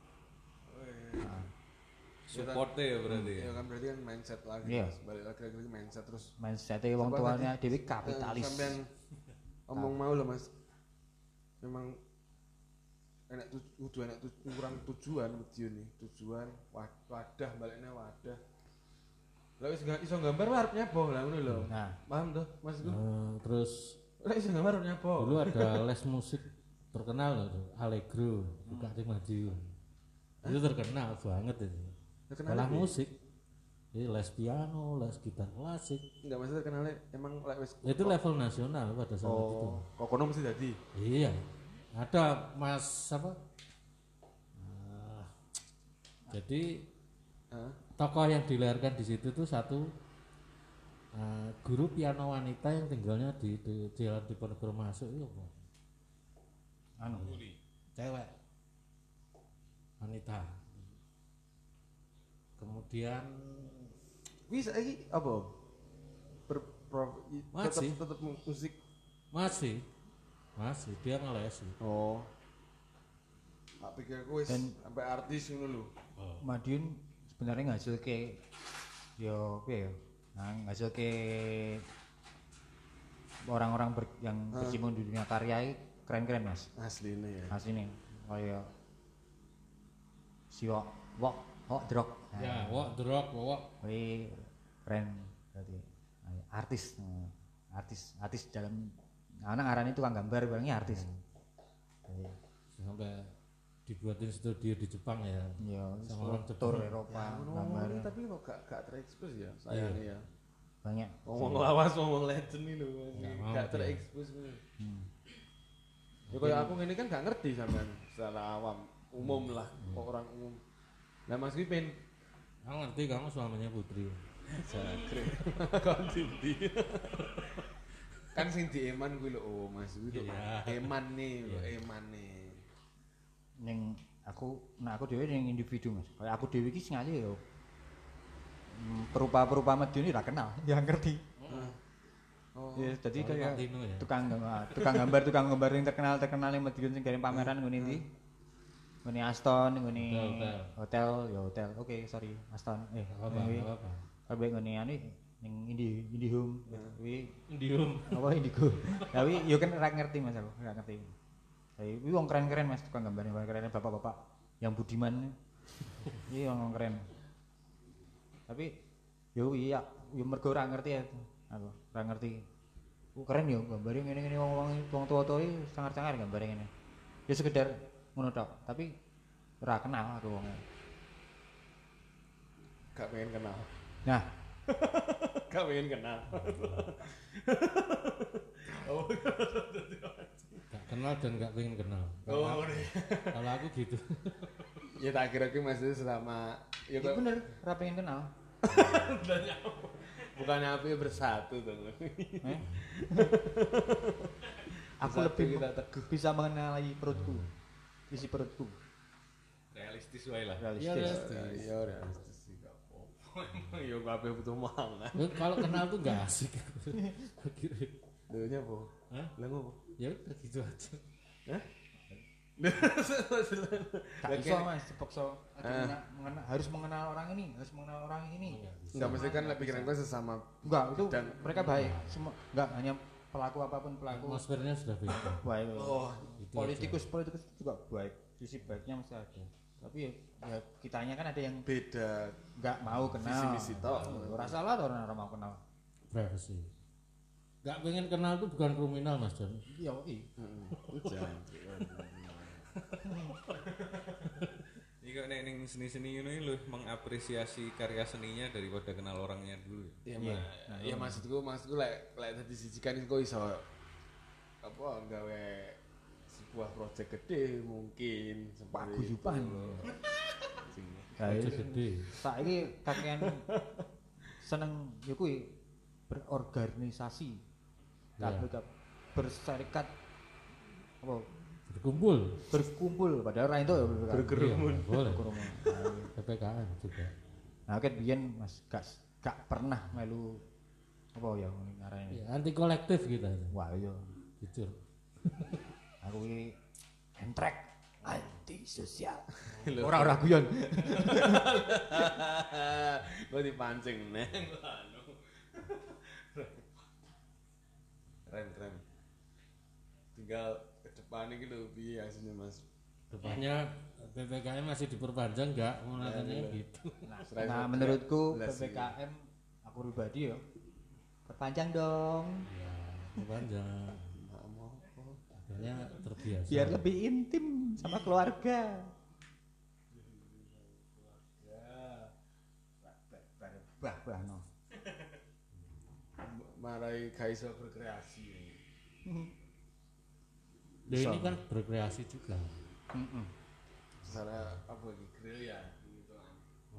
Supportnya ya berarti ya. Ya kan berarti kan mindset lagi. Iya. Mas. Balik lagi mindset terus. Mindset wong tuane dhewe kapitalis. Sampean omong mau loh Mas. Memang enak kurang tujuan Madiun nih. Tujuan wadah baliknya wadah. Lah wis iso gambar arep nyapo lah ngono lho. Nah, Paham tuh Mas itu? Terus Lah iso gambar arep nyapo. dulu ada les musik terkenal loh, Allegro, buka di Madiun. Itu terkenal banget itu. Sekolah musik. Jadi les piano, les gitar klasik. Enggak maksudnya kenalnya emang wis Itu level nasional pada saat itu. kok kono mesti dadi. Iya. Ada Mas apa? Jadi tokoh yang dilahirkan di situ tuh satu guru piano wanita yang tinggalnya di Jalan Diponegoro Masuk itu apa? Cewek wanita. Kemudian Wis saiki apa? Masih. Tetep musik. masih dia ngelesi. Oh. Tak pikir aku wis Dan- sampai artis ngono lho. Madiun sebenarnya ngasilke yo piye ya? Ngasilke orang-orang yang berkecimpung di dunia karya iki keren-keren, Mas. Asline ya. Asline kaya si Wok Drok. Ya, wok drop, wok. Kuwi keren berarti. Artis dalam anak ngarani tukang gambar bilangnya artis. Jadi, Sampai dibuatin studio di Jepang ya. ya Sama orang tur Jepang. Eropa Ngono gambar tapi kok gak terekspos ya sayangnya ya. banyak. Ngomong lawas ngomong legend nih lho. Nggak mau Gak dia. terekspos ngono. Ya kayak aku ngene kan gak ngerti sampean secara awam, umum lah, kok orang umum. Lah Mas Wipin Kamu ngerti kamu suaminya Putri. Jagre. Kon sindi. Kan sing di Eman kuwi lho, oh Mas kuwi lho. Iya. Eman nih, lho, Eman nih. Ning aku dhewe ning individu, Mas. Kayak aku dhewe iki sengaja ya perupa-perupa Madiun iki ora kenal, ya ngerti. Oh. Ya, jadi Soalnya kayak Martino ya. tukang gambar yang terkenal yang Madiun sing kirim pameran ngene ndi? Ngene Aston, ngene hotel. Oke, sorry, Aston. Apa? Kabeh ngene anu ning Indihome kuwi Indium. apa Indigo. Tapi yo kan ora ngerti Mas aku, ora ngerti. Tapi wong keren-keren Mas tukang gambarnya, keren bapak-bapak yang budiman. Iya wong keren. Tapi yo iya, yo mergo ora ngerti ya. Aku ora ngerti. Keren yo gambare ngene-ngene wong tua-tua iki sangar-sangar gambare ngene. Ya sekedar ngono tok, tapi ora kenal aku wong. Gak pengen kenal. Nah, Gak pengen kenal. Gak kenal dan gak pengen kenal. Oh, Kalau aku gitu. ya tak kira maksudnya selama ya ya bener, ora pengen kenal. bukannya api bersatu tuh. Aku lebih bisa mengenali perutku, isi perutku. Realistis wae lah. Realistis. Iya realistis sih gak apa-apa. Ya kabeh butuh mangan. Kalau kenal tuh gak asik. Kira. Lho nyapa? Hah? Lah ngopo? Ya udah gitu aja. Hah? Gak bisa Mas, dipaksa harus mengenal orang ini, harus mengenal orang ini. Enggak mesti kan pikiran gue sesama. Enggak, itu Dan- mereka baik. Semua enggak hanya pelaku apapun pelaku. Atmosfernya sudah beda. Baik. Oh, Itu Politikus juga baik. Sisi baiknya mesti ada. Tapi ya kitanya kan ada yang beda enggak mau kenal. visi misi tok. Ora salah tuh orang mau kenal. privacy. Gak pengen kenal tuh bukan kriminal Mas Don. Iya, iya. Hujan. Iki kok nek ning seni-seni ngono iki lho mengapresiasi karya seninya daripada kenal orangnya dulu. Iya, ya maksudku lek tadi sijikan iku iso apa gawe sebuah proyek gede mungkin Paguyuban. Aja gede. Saiki kakean seneng ya kuwi berorganisasi. Kabeh berserikat apa berkumpul padahal ora itu ya berkerumun. Iya, boleh. berkerumun. PPKM juga. Nah, kan biyen Mas gak pernah melu apa ya ngarane. Ya, anti kolektif kita. Wah, iya. Jujur. Aku iki entrek anti sosial. Ora guyon. Gue dipancing neng. Keren. Tinggal ke depan ini lho piye asine Mas. Depannya PPKM masih diperpanjang enggak? Mulanya gitu. Nah, menurutku PPKM aku pribadi ya perpanjang dong. Ya, diperpanjang. Akhirnya terbiasa. Biar lebih intim sama keluarga. Bah no. Marai kaiso berkreasi. Dia ini kan berkreasi juga. Secara apa lagi grill ya gitu kan.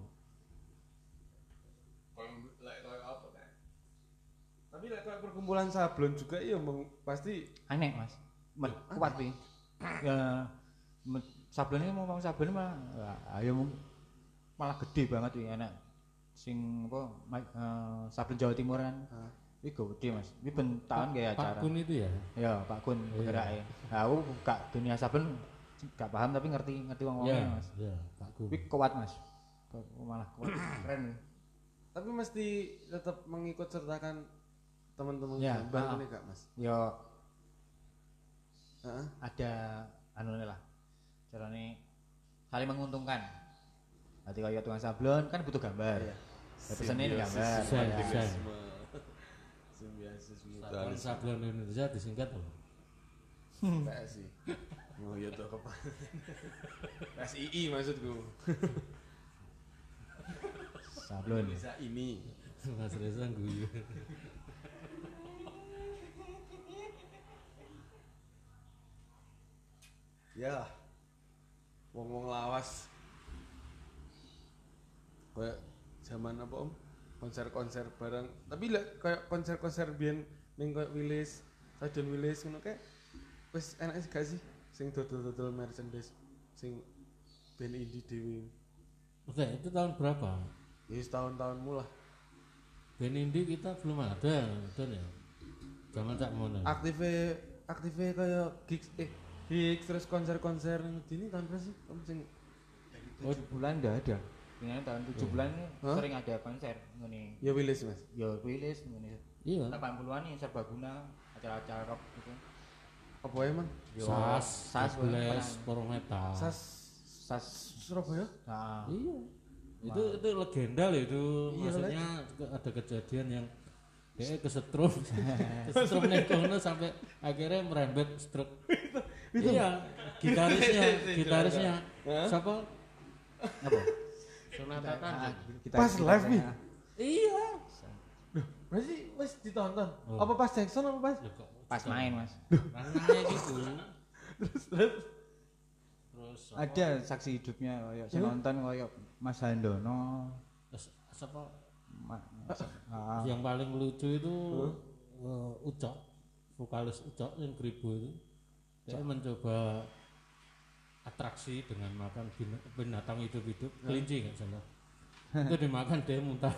Kayak apa kan? Tapi lek kayak perkumpulan sablon juga iya pasti Aneh Mas. Kuat pi. Ya sablon ini ngomong sablon malah ayo malah gede banget wi enak. Sing apa sablon Jawa Timur kan. Iki gede Mas. Iki ben tahun kayak acara. Pak Kun itu ya. Ya, Pak Kun bergerake. Nah, aku gak dunia sablon gak paham tapi ngerti wong-wongnya Mas. Iya, Pak Kun. Iki kuat Mas. Malah kuat. Keren. tapi mesti tetap mengikut sertakan teman-teman Ya, gambar ini gak Mas? Yo Heeh. ada anu lah. Carane saling menguntungkan. Nanti kayak tukang sablon kan butuh gambar. Iya. Ya pesennya ini gambar. Desain. Simbiosis Sablon mutualisme. sablon Indonesia disingkat loh. PSI. Oh iya tuh apa? PSII maksudku. Sablon. Indonesia ini. Mas Reza guyu. Ya. Wong-wong lawas. Kayak zaman apa Om? Konser-konser bareng. Tapi lek kayak konser-konser biyen ning kayak Willis, Stadion Willis ngono kayak wis enak gak sih sing dodol-dodol merchandise sing band indie dhewe. Oke, itu tahun berapa? Ya tahun-tahun mula. Band indie kita belum ada, Don ya. Zaman Cak Mono. Aktive kayak gigs terus konser-konser ini tahun berapa sih? Om sing 7 bulan enggak ada. Ini tahun 7 bulan ini Hah? sering ada konser ngene. ya Willis Mas. Ya rilis ngene. Iya. 80-an nih serbaguna, acara-acara rock gitu. Apa emang? Sas Blast Power Metal. Sas Surabaya? Nah, Iya. Itu legenda loh itu. Maksudnya ada kejadian yang dia kesetrum ning kono sampai akhirnya merembet stroke. Iya, gitarisnya. Siapa? apa? Sonata Tanjung. Pas live nih. Iya. Berarti wis ditonton. Apa pas Jackson apa pas? Loh, kok Pas main, Mas. ranahnya gitu. Terus Ada saksi hidupnya kayak sing nonton kayak Mas Handono. siapa? Ah, Yang paling lucu itu Ucok, vokalis Ucok yang Kribo itu. Dia mencoba atraksi dengan makan binatang hidup-hidup, kelinci nggak salah. Itu dimakan dia muntah.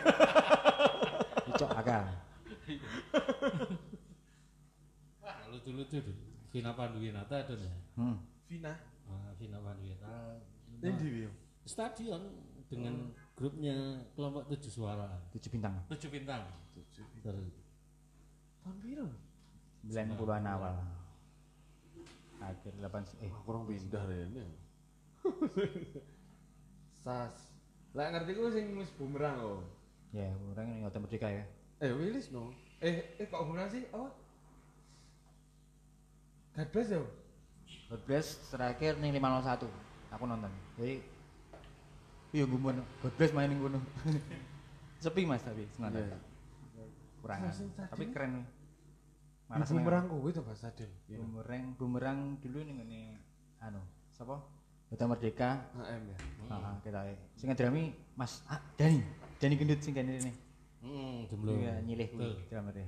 Icok akal. Wah, lucu-lucu deh. Vina Panduwinata ada nih. Vina. Vina Panduwinata. Yang di Wio. Stadion dengan grupnya kelompok 7 suara. 7 bintang. 7 bintang. Terus Tahun biru. 90-an awal. Akhir 8 Kurang pindah rene. Sas. Lah ngerti ku sing wis bumerang kok. ya, orang ini Hotel Merdeka ya. Willis no. Kok bumerang sih? Apa? God bless ya. God bless terakhir ning 501. Aku nonton. Jadi iya gumun God bless main ning kono. Sepi Mas tapi senada. Kurang. Tapi keren. Mana bumerang kuwi to Mas Adil. Bumerang dulu ning ngene anu, sapa? Hotel Merdeka. HM ya. Heeh, ketoke. Sing ngedrami Mas Dani gendut sing kene rene. jemblor. Iya, nyilih kuwi dramane.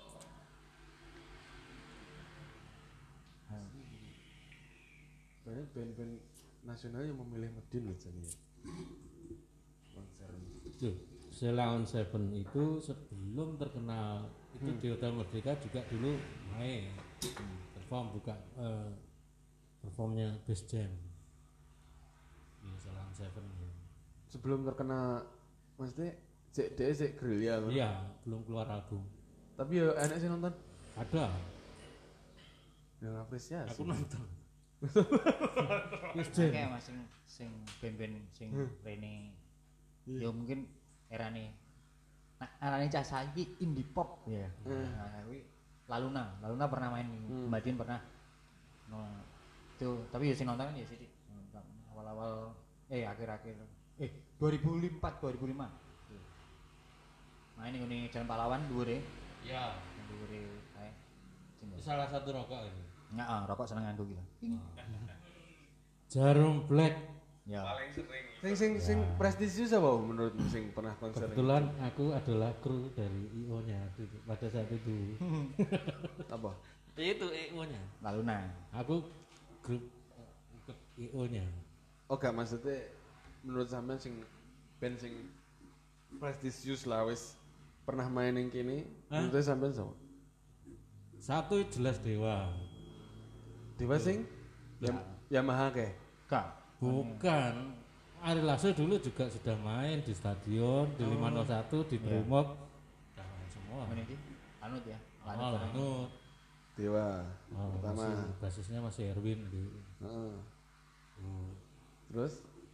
Banyak band-band nasional yang memilih Medin loh jadi. Konser. Tuh, Sheila on Seven itu sebelum terkenal itu di Hotel Merdeka juga dulu main perform buka performnya Best Jam di Sheila on Seven. Sebelum terkena maksudnya cek gerilya kan? Iya, belum keluar album. Tapi ya enak sih nonton. Ada, Yang apresiasi. aku nonton. Best Oke Jam. Mas sing band-band sing rene. Ya mungkin erane arane cah saiki indie pop ya. Nah, kuwi Laluna pernah main Mbak Din pernah. No, itu tapi ya sing nonton ya sih awal-awal akhir-akhir 2004 2005. Main ning Jalan Pahlawan dhuwure. Ya, Dhuwure kae. itu salah satu rokok ini. Heeh, rokok seneng nganggo gitu. Jarum Black. Ya. Paling sering Sing prestisius apa menurutmu sing pernah konser? Kebetulan aku adalah kru dari IO-nya pada saat itu. Apa? Itu IO-nya. Laluna. Aku grup ikut IO-nya. Oh gak maksudnya menurut sampean sing band sing prestisius lah wis pernah main yang kini menurut sampean sama? Satu jelas Dewa. Dewa sing Yamaha kayak? Kak. Bukan. Ari Lasso dulu juga sudah main di stadion, di 501, di Brimob. Sudah main semua. Mana iki? Anut ya. Oh, Lanut. Dewa pertama. Basisnya masih Erwin gitu. Heeh. Terus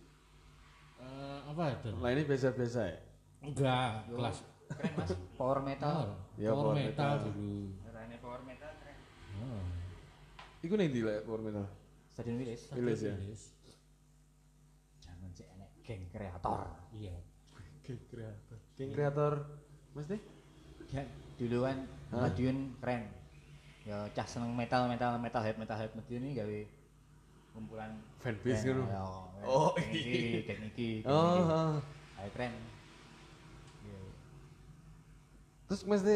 Apa itu? lainnya biasa-biasa ya? Enggak, kelas Keren Mas. Power metal. Ya, power power metal metal. dulu. Rene power metal keren. Oh. Iku nih di power metal. Stadion Wilis. Wilis ya. Wilis. Jangan cek enek geng kreator. Iya. King kreator mesti? Ya, duluan Madiun keren. Ya cah seneng metalhead Madiun ini gawe kumpulan Fanbase band, ngono. ya, Oh, geng iki. Oh. Ayo keren. Ya. Terus mesti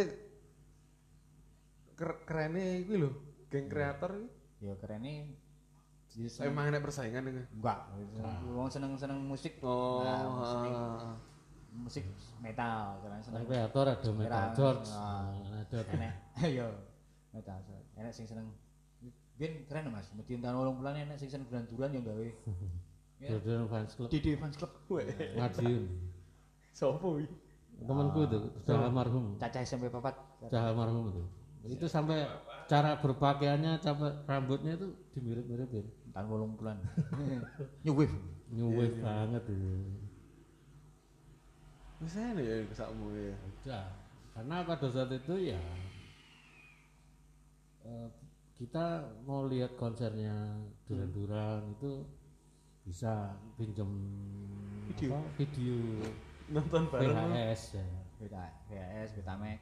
kerennya iku lho, geng kreator iki. Ya keren nih. Emang enak persaingan iki. Enggak, wong seneng musik. Oh. Nah, musik metal, kalian seneng. Kreator ada Metal George. Ada Enek, yo metal. Enek sing seneng. Biyen keren Mas, Madiun tahun 80-an enek sing seneng duran-duran yo gawe. Ya, Jordan Fans Club. Didi Fans Club. Madiun. Sopo iki? Temanku itu sudah almarhum. Caca SMP 4. Sudah almarhum itu. Itu sampai cara berpakaiannya, cara rambutnya itu dimirip-miripin. Tahun 80-an. New wave. New wave banget itu. Misalnya ya kesakmu ya. Udah. Karena pada saat itu ya kita mau lihat konsernya Duran-Duran itu bisa pinjam video Nonton bareng. VHS ya. VHS, Betamax.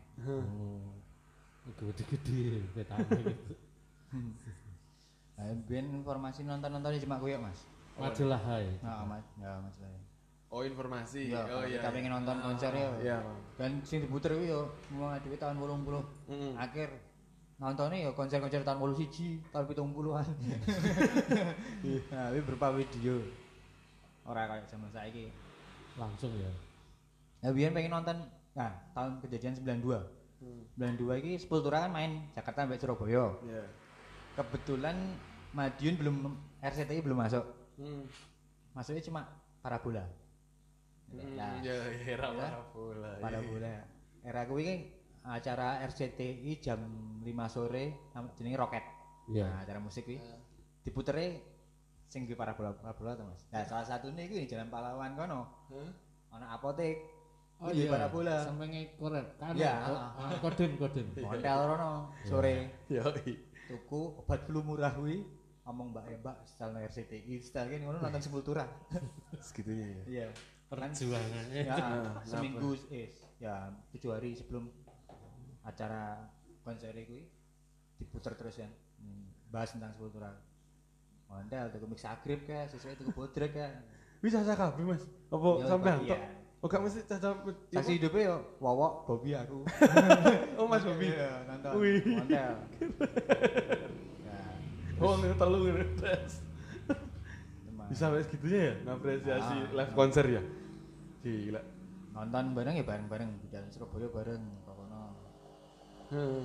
Gede-gede Betamax gitu. Nah, ben informasi nonton-nontonnya cuma koyo, Mas. Majalah Hai. Heeh, Mas. Ya, Mas. Oh, informasi. Iya, Oh iya. kita pengen nonton konser ya. Iya. Dan sing diputer kuwi yo mau dhewe tahun 80. Akhir nontonnya ya konser-konser tahun 81, tahun 70-an. Nah, ini berupa video. Ora kayak zaman saiki. Langsung ya. Ya biyen pengen nonton nah tahun kejadian 92. 92 iki Sepultura kan main Jakarta sampai Surabaya. Iya. Kebetulan Madiun belum RCTI belum masuk. Masuknya cuma Parabola. Nah, Ya, era ya. parabola. Parabola. Era kuwi kan acara RCTI jam 5 sore jenenge Roket. Iya. Nah, acara musik kuwi diputere sing di Parabola to, Mas. Nah, salah satunya iku di Jalan Pahlawan kono. Ana apotek. Oh di iya. Parabola. Sampai ngekor kan. Iya. Kodim. Hotel rono sore. Yoi. Tuku obat flu murah kuwi ngomong Mbak setel RCTI, setel kan ngono nonton Sepultura. Segitunya ya. Iya. Perjuangannya. Ya, seminggu ya 7 hari sebelum acara konser kuwi diputer terus kan. Bahas tentang Sepultura. Mondel tuku mix agrip kayak sesuai tuku bodrek kayak. Bisa kabeh, Mas. Apa Ya, sampean iya. tok? Oh, gak mesti caca. Saksi hidupnya yo Wowok, Bobby aku. Oh, Mas Bobi. Iya, nonton. Wih. Mondel. Ya, Oh, ngene telu ngene tes. cuma Bisa sampai segitunya ya ngapresiasi Ah. live konser ya. Gila. nonton bareng ya bareng-bareng di jalan Surabaya bareng kono. Heeh.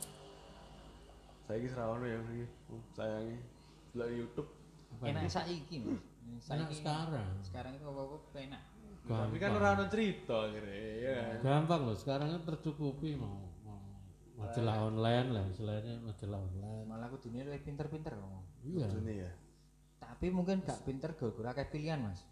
Saiki serawono ya iki. Sayangi. Delok YouTube. Enak saiki, Mas. Enak sekarang. Sekarang itu apa-apa enak. Tapi kan ora ono cerita akhirnya ya. Gampang loh, sekarang kan tercukupi mau majalah online lah, istilahnya majalah online. Malah aku dunia lebih pinter-pinter ngomong. Iya. Ini ya. Tapi mungkin gak pinter gara-gara akeh pilihan, Mas.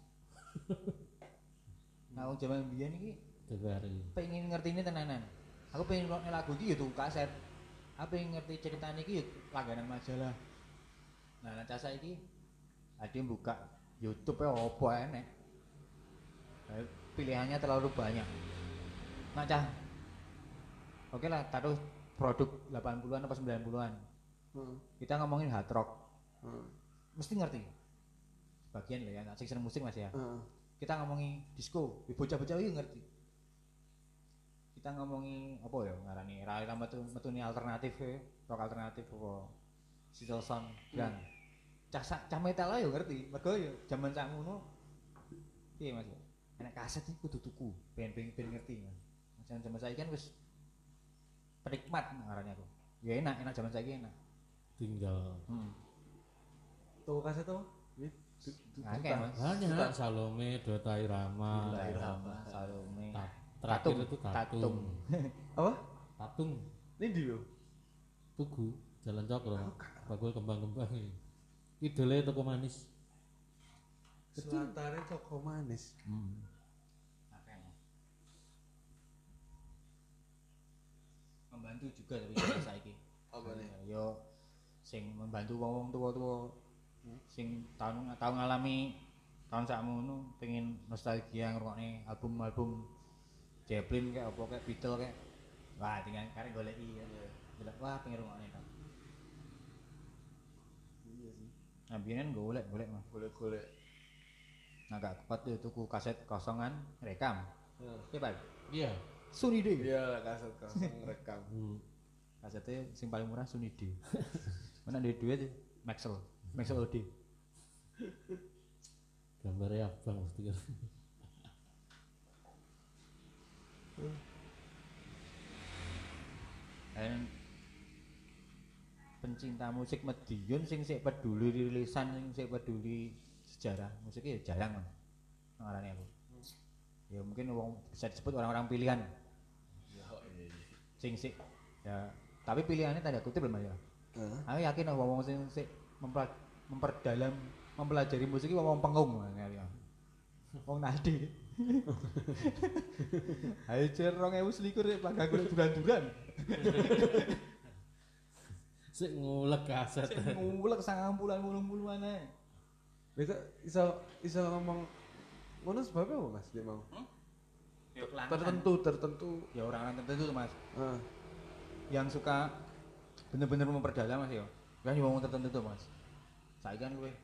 Nah, zaman biyen iki TVRI. pengen ngerti ini tenanan. Aku pengen ngrungokne lagu iki ya tuku kaset. Aku pengen ngerti ceritanya iki ya langganan majalah. Nah, nanti saiki ada yang buka YouTube ya apa enek. Pilihannya terlalu banyak. Nah, Cah. Oke lah, taruh produk 80-an atau 90-an. Kita ngomongin hard rock. Mesti ngerti. Sebagian lah ya, nggak seneng musik Mas ya. Kita ngomongin disco, bocah-bocah itu ngerti. Kita ngomongin apa ya ngarani era metune alternatif ya, rock alternatif apa Sitelson dan cah metal ayo ngerti. Mergo ya zaman sakmono piye Mas ya. Enak kaset iki kudu tuku, ben ngerti. Mas zaman saiki kan wis penikmat ngarani aku. Ya enak zaman saiki enak. Tinggal Tuh kaset tuh. Akeh Mas. banyak Salome, Dota Irama, Salome. Terakhir itu Tatung. Apa? Tatung. Ini di lo. Tugu Jalan Cokro. Bakul kembang-kembang ini. Idole toko manis. Selantarnya toko manis. Membantu juga tapi zaman saiki. Apa nih? Yo sing membantu wong tua-tua sing tahun ngalami tahun sakmono pengen nostalgia ngrungokne album-album Zeppelin kayak apa kayak Beatles kayak wah tinggal karek goleki ya. Wah pengen ngrungokne to. Iya sih. Nah biyen golek mah. Golek-golek. Nah gak kuat tuh tuku kaset kosongan rekam. Iya Pak. Iya. Sony D. Iya, kaset kosong rekam. Kasetnya sing paling murah Sony D. Mana ada duit Maxell OD. Gambarnya abang mesti kan. Dan pencinta musik Madiun sing sik peduli rilisan sing sik peduli sejarah musiknya ya jarang ngarani aku. Ya mungkin wong bisa disebut orang-orang pilihan. Sing sik ya Tapi pilihannya tanda kutip lho Mas ya. Aku yakin wong sing memperdalam mempelajari musik iki wong pengung ya. Wong nadi. Ayo cer 2021 rek panggang golek duran-duran. Sik ngulek kaset. Sik ngulek 90-an ae. Mereka iso ngomong ngono sebabnya apa Mas dia mau? Ya Tertentu. Ya orang-orang tertentu tuh Mas. Yang suka bener-bener memperdalam Mas ya. Kan wong tertentu tuh Mas. Saiki kan luwe.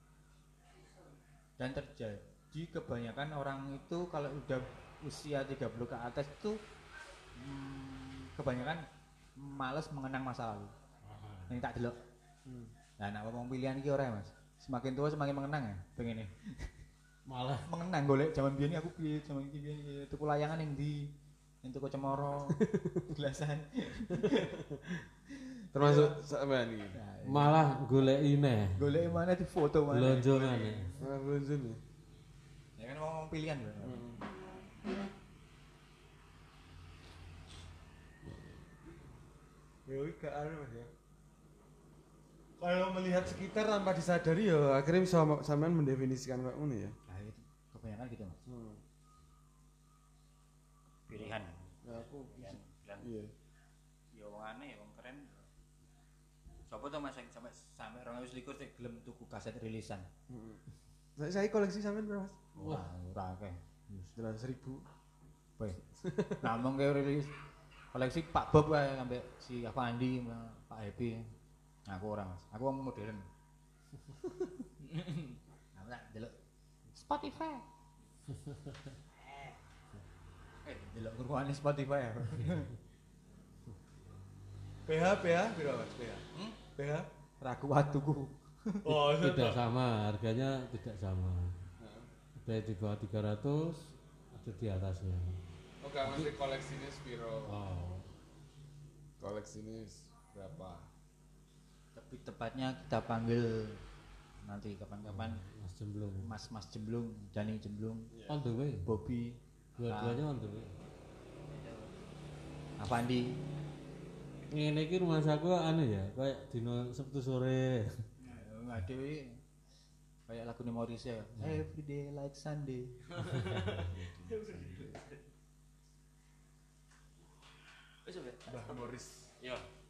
Dan terjadi kebanyakan orang itu kalau udah usia 30 ke atas itu kebanyakan males mengenang masa lalu. Ini tak delok. Nah, nek wong pilihan iki ora Mas. Semakin tua semakin mengenang ya, pengen Malah mengenang golek zaman biyen aku piye, zaman iki piye, tuku layangan ning ndi, ning tuku cemoro, gelasan. Termasuk sampean iki. malah goleki neh. Golek mana di foto mana. Blonjo maneh. Blonjo nih. Ya kan ngomong pilihan lho. Ya iki gak anu Mas ya. Kalau melihat sekitar tanpa disadari ya akhirnya bisa sampean mendefinisikan kayak ngono ya. Nah, itu kebanyakan gitu Mas. Pilihan. Ya aku Pilihan. iya. Ya wong aneh, wong keren. Sopo to Mas sampai 2021 sik gelem tuku kaset rilisan. Saya koleksi sampean berapa Mas? Wah, ora akeh. 9.000. Weh. Namung ke rilis koleksi Pak Bob wae sampai si Avandi, Pak Happy. Aku ora Mas. Aku wong modern. Aku tak delok Spotify. Delok kurungane Spotify aku. PH berapa Mas? PH? Ra kuat tuku. Oh, Tidak sama, harganya tidak sama. Ada di bawah 300, ada di atasnya. Oh, gak mesti koleksinya Spiro. Oh, Koleksinya berapa? Tapi tepatnya kita panggil nanti kapan-kapan Mas Jemblung. Mas Jemblung, Jani Jemblung, On the way. Bobby, Dua-duanya on the way. Avandi. Ngene iki rumah saku anu ya, kayak dino Sabtu sore. Ngadewi kayak lagu Morris ya. Every day like Sunday. Mbah Morris. Yo.